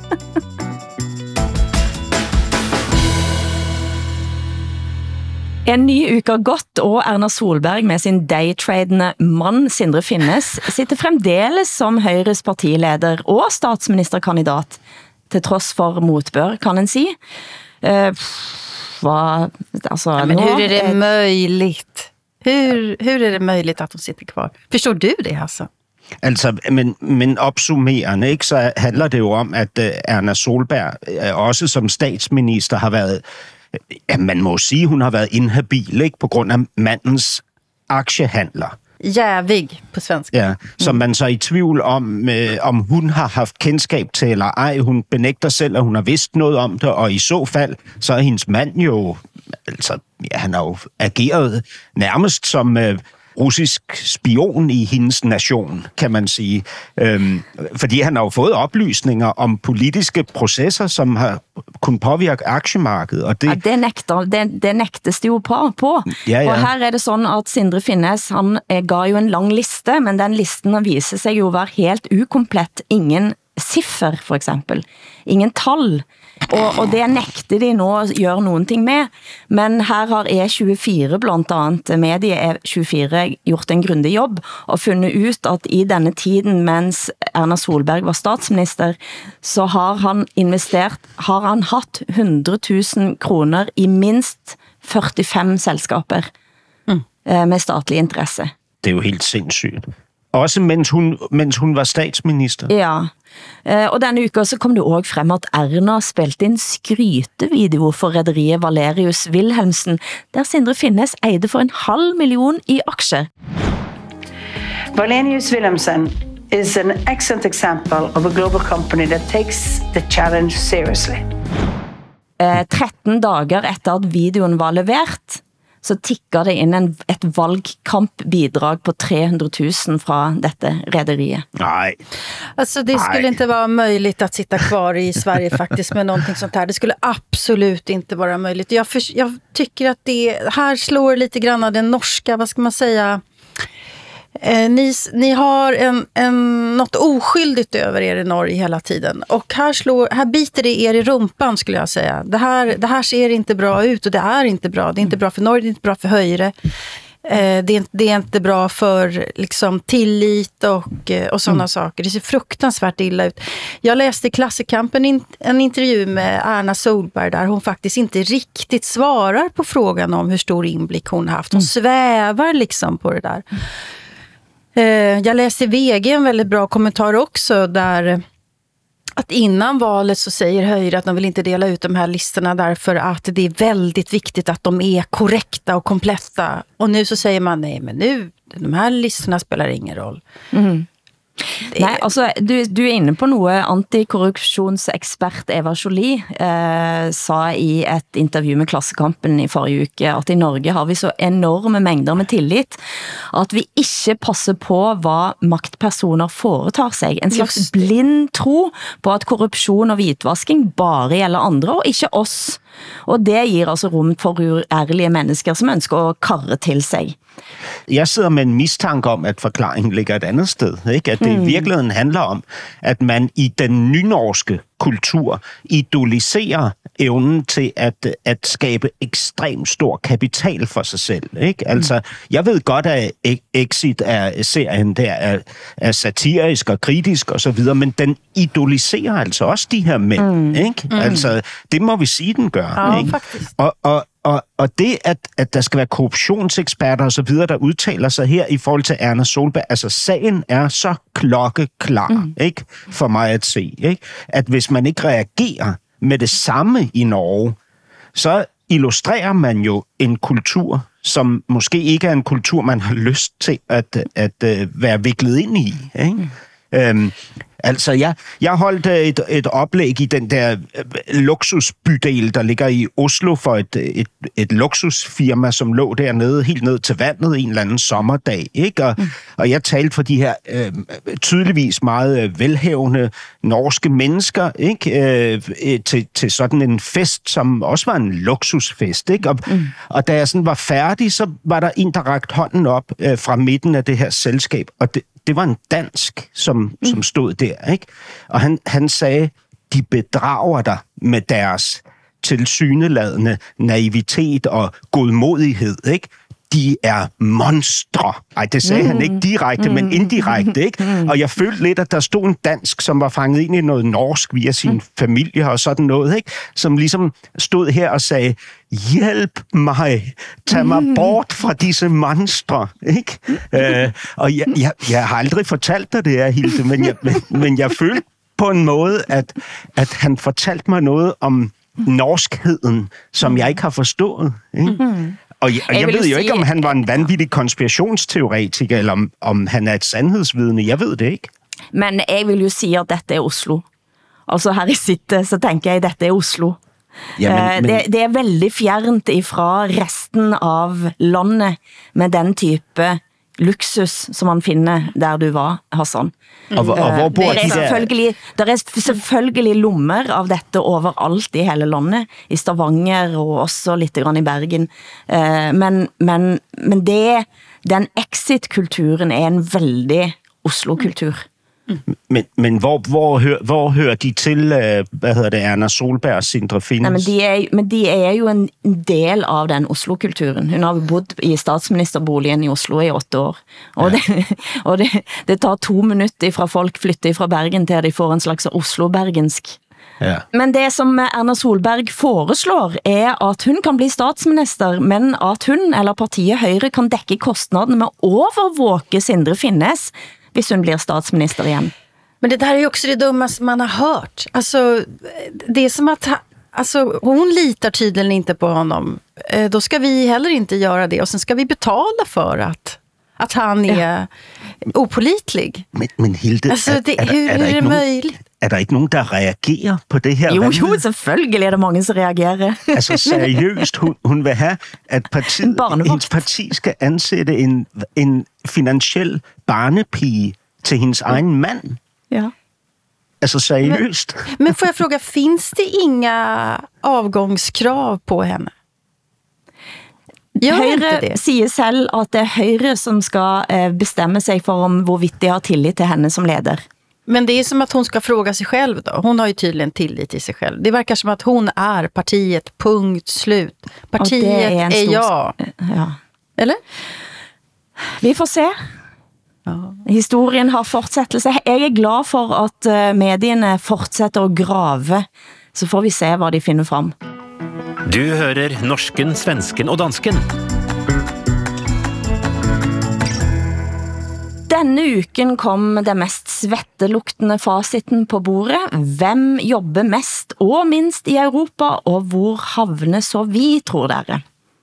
S2: En ny uke har gått, og Erna Solberg med sin daytradende mann Sindre Finnes sitter fremdeles som Høyres partileder og statsministerkandidat, til tross for motbør, kan en si.
S3: Men hur är det möjligt? Hur är det möjligt att hon sitter kvar? Förstår du det, Hassan?
S4: Altså, men opsummerende, ikke, så handler det jo om, at Erna Solberg også som statsminister har været, ja, man må sige, hun har været inhabil, ikke, på grund af mandens aktiehandler.
S3: Jävig på svensk.
S4: Ja, som man så er i tvivl om hun har haft kendskab til eller ej. Hun benægter selv, at hun har vidst noget om det, og i så fald, så er hendes mand jo, altså, ja, han har jo ageret nærmest som russisk spion i hendes nation, kan man sige. Fordi han har jo fået oplysninger om politiske processer, som har kunnet påvirke aktiemarkedet. Og det,
S2: det nægtes det jo på. Ja. Og her er det sådan, at Sindre Finnes, han gav jo en lang liste, men den listen viser sig jo være helt ukomplett. Ingen siffer, for eksempel. Ingen tal. Og det nægter de nå at gøre nogen ting med. Men her har E24 blandt andet, medie E24, gjort en grundig jobb og fundet ut at i denne tiden, mens Erna Solberg var statsminister, så har han hatt 100 000 kroner i minst 45 selskaper med statlig interesse.
S4: Det er jo helt sindssygt. Også mens hun var statsminister.
S2: Ja, og denne uka så kom det også frem at Erna spilte en skrytevideo for rederiet Valerius Wilhelmsen, der Sindre Finnes eide for 500.000 i aksjer.
S9: Valerius Wilhelmsen is an excellent example of a global company that takes the challenge seriously.
S2: 13 dager etter at videoen var levert, så tikker det ind et valgkampbidrag på 300 000 fra dette rederiet.
S4: Nej.
S3: Alltså det skulle inte vara möjligt att sitta kvar i Sverige faktiskt med någonting sånt här. Det skulle absolut inte vara möjligt. Jag tycker att det här slår lite grann av den norska, vad ska man säga... Ni har något oskyldigt över er i Norge hela tiden. Och här biter det er i rumpan, skulle jag säga. Det här ser inte bra ut och det är inte bra. Det är inte bra för Norge, det är inte bra för Høyre. Det är inte bra för liksom, tillit och sådana saker. Det ser fruktansvärt illa ut. Jag läste i Klassekampen en intervju med Erna Solberg där hon faktiskt inte riktigt svarar på frågan om hur stor inblick hon haft. Hon svävar liksom på det där. Jag läste i VG en väldigt bra kommentar också där att innan valet så säger Høyre att de vill inte dela ut de här listorna därför att det är väldigt viktigt att de är korrekta och kompletta. Och nu så säger man nej, men nu de här listorna spelar ingen roll. Mm.
S2: Nej, altså, du er inne på noe. Antikorrupsjonsekspert Eva Jolie sa i et intervju med Klassekampen i forrige uke at i Norge har vi så enorme mængder med tillit at vi ikke passer på hvad maktpersoner foretar sig. En slags blind tro på at korruption og hvitvasking bare gælder andre og ikke oss. Og det giver altså rum for uærlige mennesker som ønsker at karre til sig.
S4: Jeg sidder med en mistanke om, at forklaringen ligger et andet sted. Ikke? At det i virkeligheden handler om, at man i den nynorske kultur idoliserer evnen til at skabe ekstremt stor kapital for sig selv. Ikke? Altså, jeg ved godt, at Exit er serien der er satirisk og kritisk og så videre, men den idoliserer altså også de her mænd. Ikke? Altså, det må vi sige, den gør.
S3: Ja,
S4: ikke?
S3: faktisk.
S4: Og det, at der skal være korruptionseksperter og så videre, der udtaler sig her i forhold til Erna Solberg, altså sagen er så klokkeklar, ikke? For mig at se, ikke? At hvis man ikke reagerer med det samme i Norge, så illustrerer man jo en kultur, som måske ikke er en kultur, man har lyst til at være viklet ind i, ikke? Altså, jeg holdt et oplæg i den der luksusbydel, der ligger i Oslo for et luksusfirma, som lå dernede, helt ned til vandet en eller anden sommerdag, ikke? Og jeg talte for de her tydeligvis meget velhavende norske mennesker, ikke? Til sådan en fest, som også var en luksusfest, ikke? Og da jeg sådan var færdig, så var der en, der rakte hånden op fra midten af det her selskab, og det var en dansk, som stod der, ikke? Og han sagde, de bedrager dig med deres tilsyneladende naivitet og godmodighed, ikke? De er monstre. Ej, det sagde han ikke direkte, men indirekte, ikke? Og jeg følte lidt, at der stod en dansk, som var fanget ind i noget norsk via sin familie og sådan noget, ikke? Som ligesom stod her og sagde, hjælp mig, tag mig bort fra disse monstre, ikke? Og jeg har aldrig fortalt dig det her, Hilde, men jeg følte på en måde, at han fortalte mig noget om norskheden, som jeg ikke har forstået, ikke? Og jeg ved jo ikke, om han var en vanvittig konspirationsteoretiker, eller om han er et sandhedsvidne. Jeg ved det ikke.
S2: Men jeg vil jo sige, at dette er Oslo. Altså her i City, så tænker jeg, at dette er Oslo. Ja, men... Det er veldig fjernt ifra resten av landet med den type luksus, som man finder der du var, Hassan.
S4: Og hvor bor de der?
S2: Der er selvfølgelig lommer av dette overalt i hele landet, i Stavanger og også lidt grann i Bergen. Men den exit-kulturen er en veldig Oslo-kultur.
S4: Men hvor hører de til, Erna Solberg og Sindre Finnes?
S2: Men de er jo en del av den Oslo-kulturen. Hun har bodd i statsministerboligen i Oslo i 8 år. Og det tar 2 minutter fra folk flytter fra Bergen til de får en slags Oslo-bergensk. Ja. Men det som Erna Solberg foreslår er at hun kan bli statsminister, men at hun eller partiet Høyre kan dække kostnaden med at overvåke Sindre Finnes, hvis hun blir statsminister igen.
S3: Men det där är ju också det dummaste man har hört. Alltså, det är som att hon litar tydligen inte på honom. Då ska vi heller inte göra det. Och sen ska vi betala för att han är opålitlig.
S4: Men Hilde,
S3: alltså, hur är det möjligt?
S4: er der ikke nogen, der reagerer på det her?
S2: Jo, selvfølgelig er der mange, som reagerer.
S4: Altså seriøst, hun vil have, at hendes parti skal ansætte en finansiel barnepige til hendes egen mand.
S2: Ja.
S4: Altså seriøst.
S3: Men får jeg fråga, finns det inga avgångskrav på henne?
S2: Høyre siger selv, at det er Høyre, som skal bestemme sig for om hvorvidt de har tillit til henne som leder.
S3: Men det är som att hon ska fråga sig själv då. Hon har ju tydligen tillit till sig själv. Det verkar som att hon är partiet, punkt, slut. Partiet är jag.
S2: Ja.
S3: Eller?
S2: Vi får se. Ja. Historien har fortsettelse. Jeg er glad for at medierne fortsetter at grave. Så får vi se, hvad de finder frem.
S10: Du hører norsken, svensken og dansken.
S2: Denne uken kom det mest svetteluktende fasiten på bordet. Hvem jobber mest og minst i Europa, og hvor havner så vi, tror dere?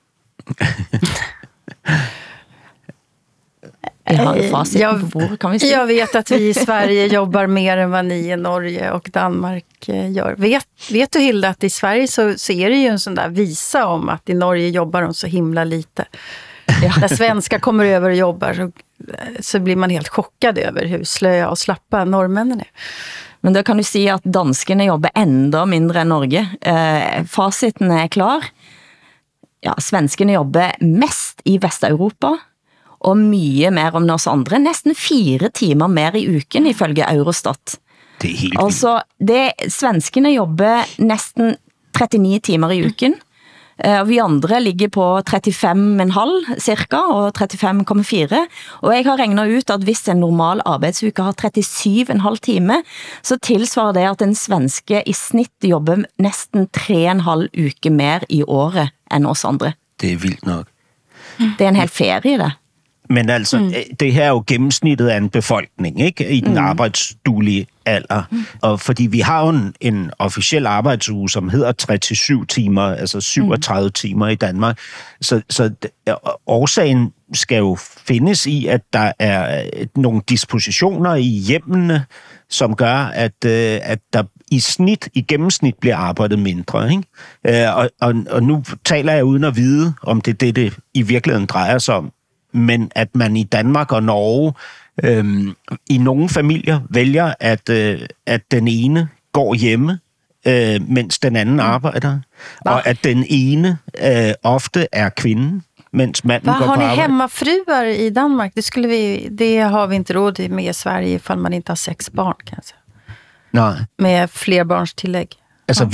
S2: Vi har jo fasiten på bordet, kan vi se.
S3: Jag vet att vi i Sverige jobbar mer än vad ni i Norge och Danmark gör. Vet du, Hilda, att i Sverige så är det ju en sån där visa om att i Norge jobbar de så himla lite. När svenskar kommer över och jobbar så blir man helt chockad över hur slöa och slappa norrmännen är.
S2: Men då kan du si at danskene jobber enda mindre än Norge. Fasiten er klar. Ja, svenskene jobber mest i Vesteuropa, og mye mer om oss andre. Nesten 4 timer mer i uken, ifølge Eurostat.
S4: Det er helt
S2: altså, svenskene jobber nesten 39 timer i uken. Vi andre ligger på 35,5 cirka, og 35,4. Og jeg har regnet ut at hvis en normal arbeidsuke har 37,5 time, så tilsvarer det at en svenske i snitt jobber nesten 3,5 uke mer i året end oss andre.
S4: Det er vildt nok.
S2: Det er en hel ferie, det.
S4: Men altså, det her er jo gennemsnittet af en befolkning, ikke? I den arbejdsduelige alder. Og fordi vi har jo en officiel arbejdsuge, som hedder 37 timer, altså 37 timer i Danmark. Så årsagen skal jo findes i, at der er nogle dispositioner i hjemmene, som gør, at der i gennemsnit bliver arbejdet mindre, ikke? Og nu taler jeg uden at vide, om det i virkeligheden drejer sig om. Men at man i Danmark og Norge i nogle familier vælger, at den ene går hjemme, mens den anden arbejder. Og at den ene ofte er kvinden, mens manden går på arbejde.
S3: Har ni hemmafruar i Danmark? Det har vi inte råd med i Sverige, ifall man inte har 6 barn, kanske.
S4: Nej.
S3: Med flerbarnstillæg.
S4: Altså,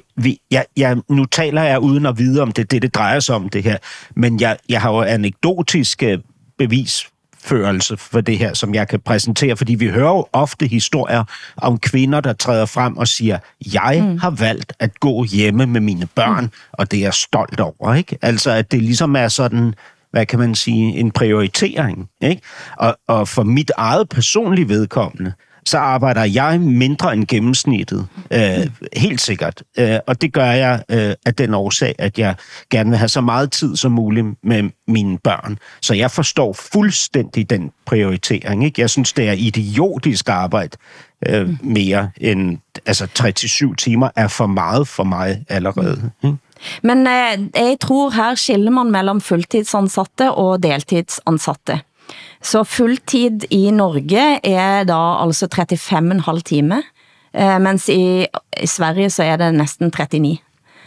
S4: nu taler jeg uden at vide, om det drejer sig om det her, men jeg har jo anekdotisk bevisførelse for det her, som jeg kan præsentere, fordi vi hører jo ofte historier om kvinder, der træder frem og siger, jeg har valgt at gå hjemme med mine børn, og det er jeg stolt over, ikke? Altså, at det ligesom er sådan, hvad kan man sige, en prioritering, ikke? Og for mit eget personlige vedkommende, så arbejder jeg mindre end gennemsnittet. Helt sikkert. Og det gør jeg af den årsag, at jeg gerne vil have så meget tid som muligt med mine børn. Så jeg forstår fuldstændig den prioritering, ikke? Jeg synes, det er idiotisk arbejde mere end... Altså, 37 timer er for meget for mig allerede. Ikke?
S2: Men jeg tror her skiller man mellem fulltidsansatte og deltidsansatte. Så fulltid i Norge er da altså 35,5 time, mens i Sverige så er det næsten 39.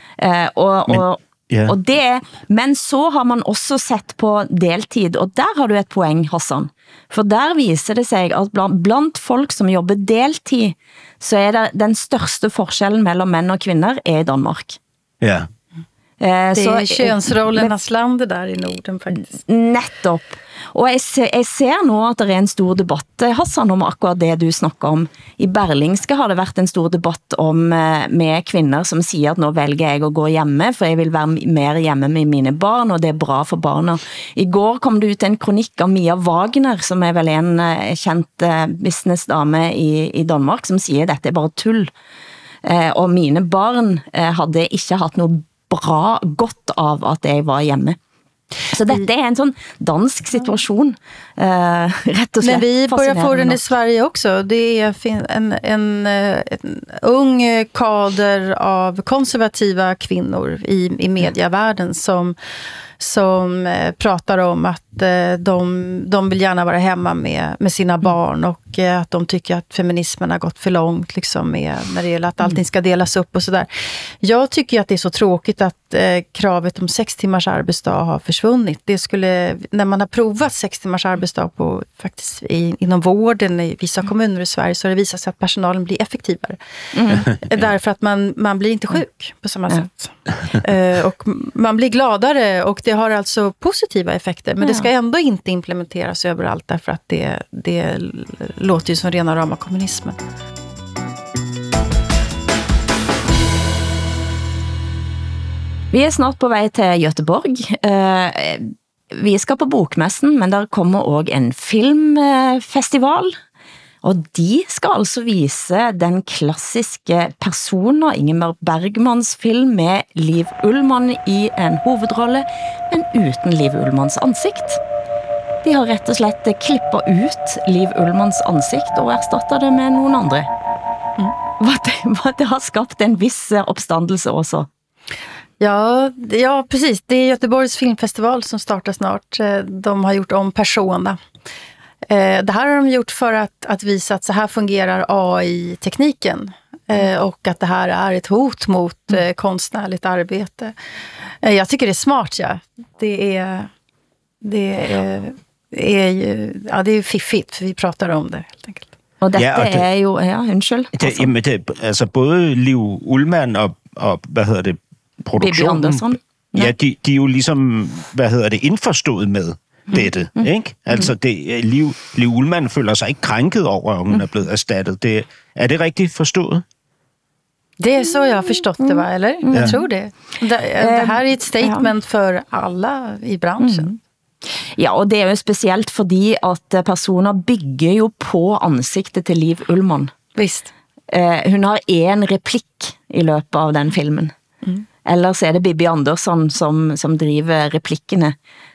S2: Men så har man også sett på deltid, og der har du et poeng, Hassan. For der viser det sig, at blandt folk som jobber deltid, så er det den største forskellen mellem mænd og kvinder er i Danmark.
S4: Ja.
S3: Det er könsrollernas land det der i Norden, faktisk.
S2: Nettopp. Og jeg ser nå at det er en stor debatt, Hassan, om akkurat det du snakker om. I Berlingske har det vært en stor debatt med kvinder som siger at nå velger jeg å gå hjemme, for jeg vil være mer hjemme med mine barn, og det er bra for barna. I går kom det ut en kronikk av Mia Wagner, som er vel en kjent businessdame i Danmark, som siger at dette er bare tull. Og mine barn hadde ikke hatt noe bra godt av at jeg var hjemme. Så dette en sån dansk situation, rätt och slett.
S3: Men vi börjar få den i Sverige också. Det är en ung kader av konservativa kvinnor i medievärlden som pratar om att de vill gärna vara hemma med sina barn och att de tycker att feminismen har gått för långt liksom när det gäller att allting ska delas upp och sådär. Jag tycker att det är så tråkigt att kravet om 6 timmars arbetsdag har försvunnit. Det skulle, när man har provat 6 timmars arbetsdag på faktiskt inom vården i vissa kommuner i Sverige, så har det visat sig att personalen blir effektivare. Därför att man blir inte sjuk på samma sätt. Och man blir gladare och det har alltså positiva effekter, men det ska ändå inte implementeras överallt därför att det låter ju som rena rama kommunismen.
S2: Vi er snart på vej til Göteborg. Vi skal på bokmessen, men der kommer også en filmfestival. Og de skal altså vise den klassiske Personer, Ingmar Bergmans film med Liv Ullmann i en hovedrolle, men uten Liv Ullmanns ansikt. De har rett og slett klippet ut Liv Ullmanns ansikt og erstattet det med noen andre. Det har skapt en viss oppstandelse også.
S3: Ja, precis. Det är Göteborgs filmfestival som startar snart. De har gjort om Persona. Det här har de gjort för att visa att så här fungerar AI-tekniken. Och att det här är ett hot mot konstnärligt arbete. Jag tycker det är smart, ja. Det är ju fiffigt, för vi pratar om det helt enkelt.
S2: Og dette er jo, undskyld.
S4: Altså både Liv Ullmann og hvad hedder det, produktionen, de er jo ligesom, indforstået med dette, ikke? Altså, Liv Ullmann føler sig ikke krænket over, at hun er blevet erstattet. Er det rigtigt forstået?
S3: Det är så jag har förstått det, va? Eller? Jag tror det. Det här är ett statement för alla i branschen.
S2: Ja, og det er jo specielt fordi at Personer bygger jo på ansiktet til Liv Ullmann.
S3: Visst.
S2: Hun har en replikk i løpet av den filmen. Ellers er det Bibi Andersson som driver replikkene.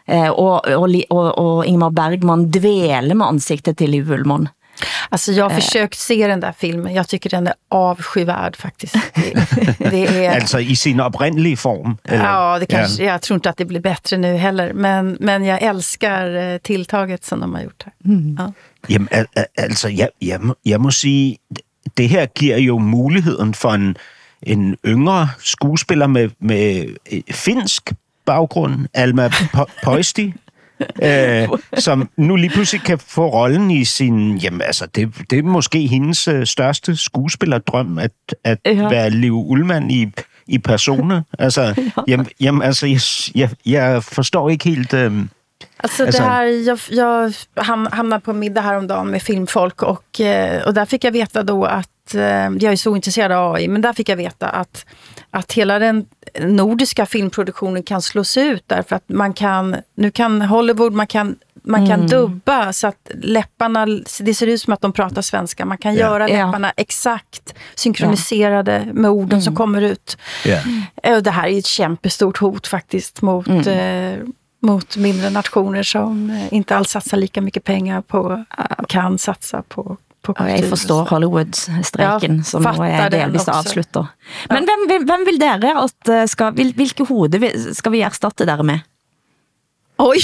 S2: Og Ingmar Bergman dveler med ansiktet til Liv Ullmann.
S3: Alltså jag har försökt se den där filmen. Jag tycker den är avskyvärd faktiskt. Det är...
S4: Alltså i sin oprindelige form?
S3: Eller? Ja, det kanske, jag tror inte att det blir bättre nu heller. Men jag älskar tilltaget som de har gjort här. Ja.
S4: Jamen, altså, jeg må sige, det her giver jo muligheden for en yngre skuespiller med finsk baggrund, Alma Pöysti, som nu lige pludselig kan få rollen i sin... Jamen, altså, det er måske hendes største skuespillerdrøm, at være Liv Ullmann i Persona. Altså, jamen, altså, jeg forstår ikke helt...
S3: Alltså det här, jag hamnade på middag häromdagen med filmfolk och där fick jag veta då att jag är så intresserad av AI, men där fick jag veta att hela den nordiska filmproduktionen kan slås ut därför att nu kan Hollywood, man kan dubba så att läpparna, det ser ut som att de pratar svenska, man kan göra läpparna exakt synkroniserade med orden som kommer ut. Och det här är ett kämpestort hot faktiskt mot mindre nationer som inte alls satsar lika mycket pengar på, kan satsa på kultur.
S2: Jeg forstår Hollywood-streken som nå er delvis avslutter. Men hvem vil dere at hvilke hode skal vi erstatte dere med?
S3: Oj!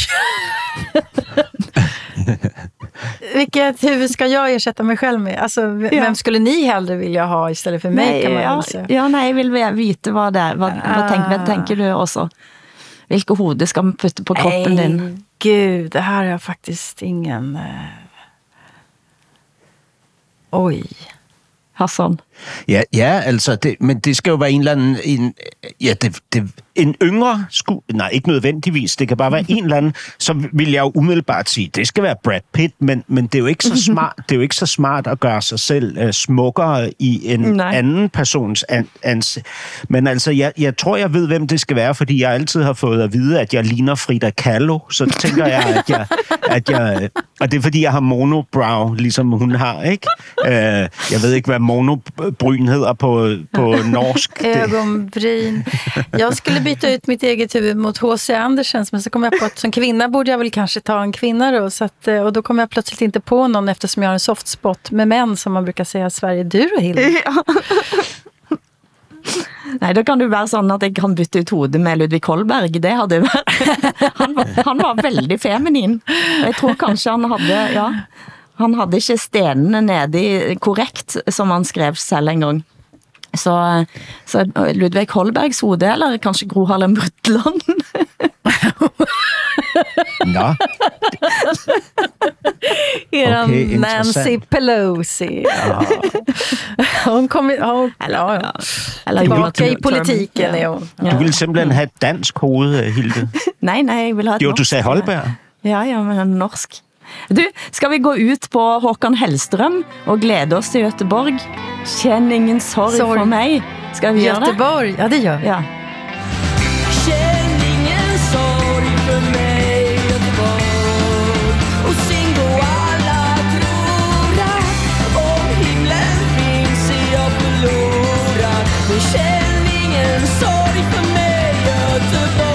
S3: Vilket huvud ska jag ersätta mig själv med? Alltså, vem skulle ni hellre vilja ha istället för mig, kan man säga?
S2: Jeg vil vite hva det er. Hva tenker du også? Hvilke hode skal man putte på kroppen din?
S3: Gud, det här är faktiskt ingen... Oj.
S2: Hassan?
S4: Ja, altså, men det skal jo være en eller anden... En yngre nej, ikke nødvendigvis. Det kan bare være en eller anden, så vil jeg jo umiddelbart sige, det skal være Brad Pitt, men det er jo ikke så smart. Det er jo ikke så smart at gøre sig selv smukkere i en anden persons Men altså, jeg tror, jeg ved, hvem det skal være, fordi jeg altid har fået at vide, at jeg ligner Frida Kahlo. Så tænker jeg, at jeg og det er fordi, jeg har monobrow, ligesom hun har, ikke? Jeg ved ikke, hvad monobryn hedder på norsk.
S3: Ögonbryn. Jag skulle ville byta ut mitt eget huvud mot H.C. Andersens, men så kom jag på att som kvinna borde jag väl kanske ta en kvinna då, så att, och då kom jag plötsligt inte på någon eftersom jag har en soft spot med män som man brukar säga Sverige. Du då, Hilde?
S2: Ja. Nej, da kan du være sånn at jeg kan bytte ut hodet med Ludvig Holberg. Det hadde vært... Han var veldig feminin. Jeg tror kanskje han hadde... Ja, han hadde ikke stenene nede i korrekt, som han skrev selv en gang. Så Ludvig Holbergs hode, eller kanskje Gro Harlem Brundtland?
S4: Nå.
S3: Okay, Nancy Pelosi. Ja. Hun kom eller tillbaka i politiken. Ja.
S4: Du ville simpelthen have et dansk hoved, Hilde.
S2: Nej, jeg vil have et
S4: jo,
S2: norsk.
S4: du sagde Holberg.
S2: Ja, men norsk. Du, skal vi gå ut på Håkan Hellstrøm og glede oss til Göteborg? Kjenn ingen sorg for meg. Skal vi gjøre det?
S3: Göteborg, ja det gjør vi.
S2: Ja.
S11: Känn ingen sorg för mig, Göteborg. Och sing då alla tror att om himlen finns är jag förlorad. Men känn ingen sorg för mig, Göteborg.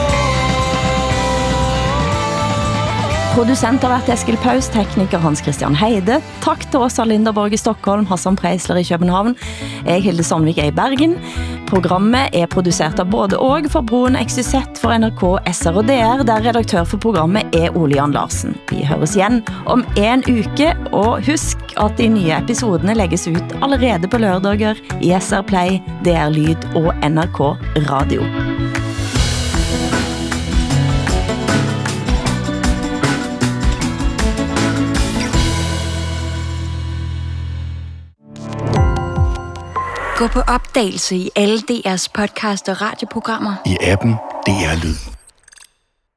S2: Producent har vært Eskil Paus, tekniker Hans Christian Heide. Takk til Åsa Linderborg i Stockholm, Hassan Preisler i København. Jeg, Hilde Sandvik, er i Bergen. Programmet er produsert av både og for Broen XYZ for NRK, SR og DR, der redaktør for programmet er Ole Jan Larsen. Vi høres igjen om en uke, og husk at de nye episodene legges ut allerede på lørdager i SR Play, DR Lyd og NRK Radio.
S6: Gå på opdagelse i alle DR's podcast og radioprogrammer.
S12: I appen DR Lyd.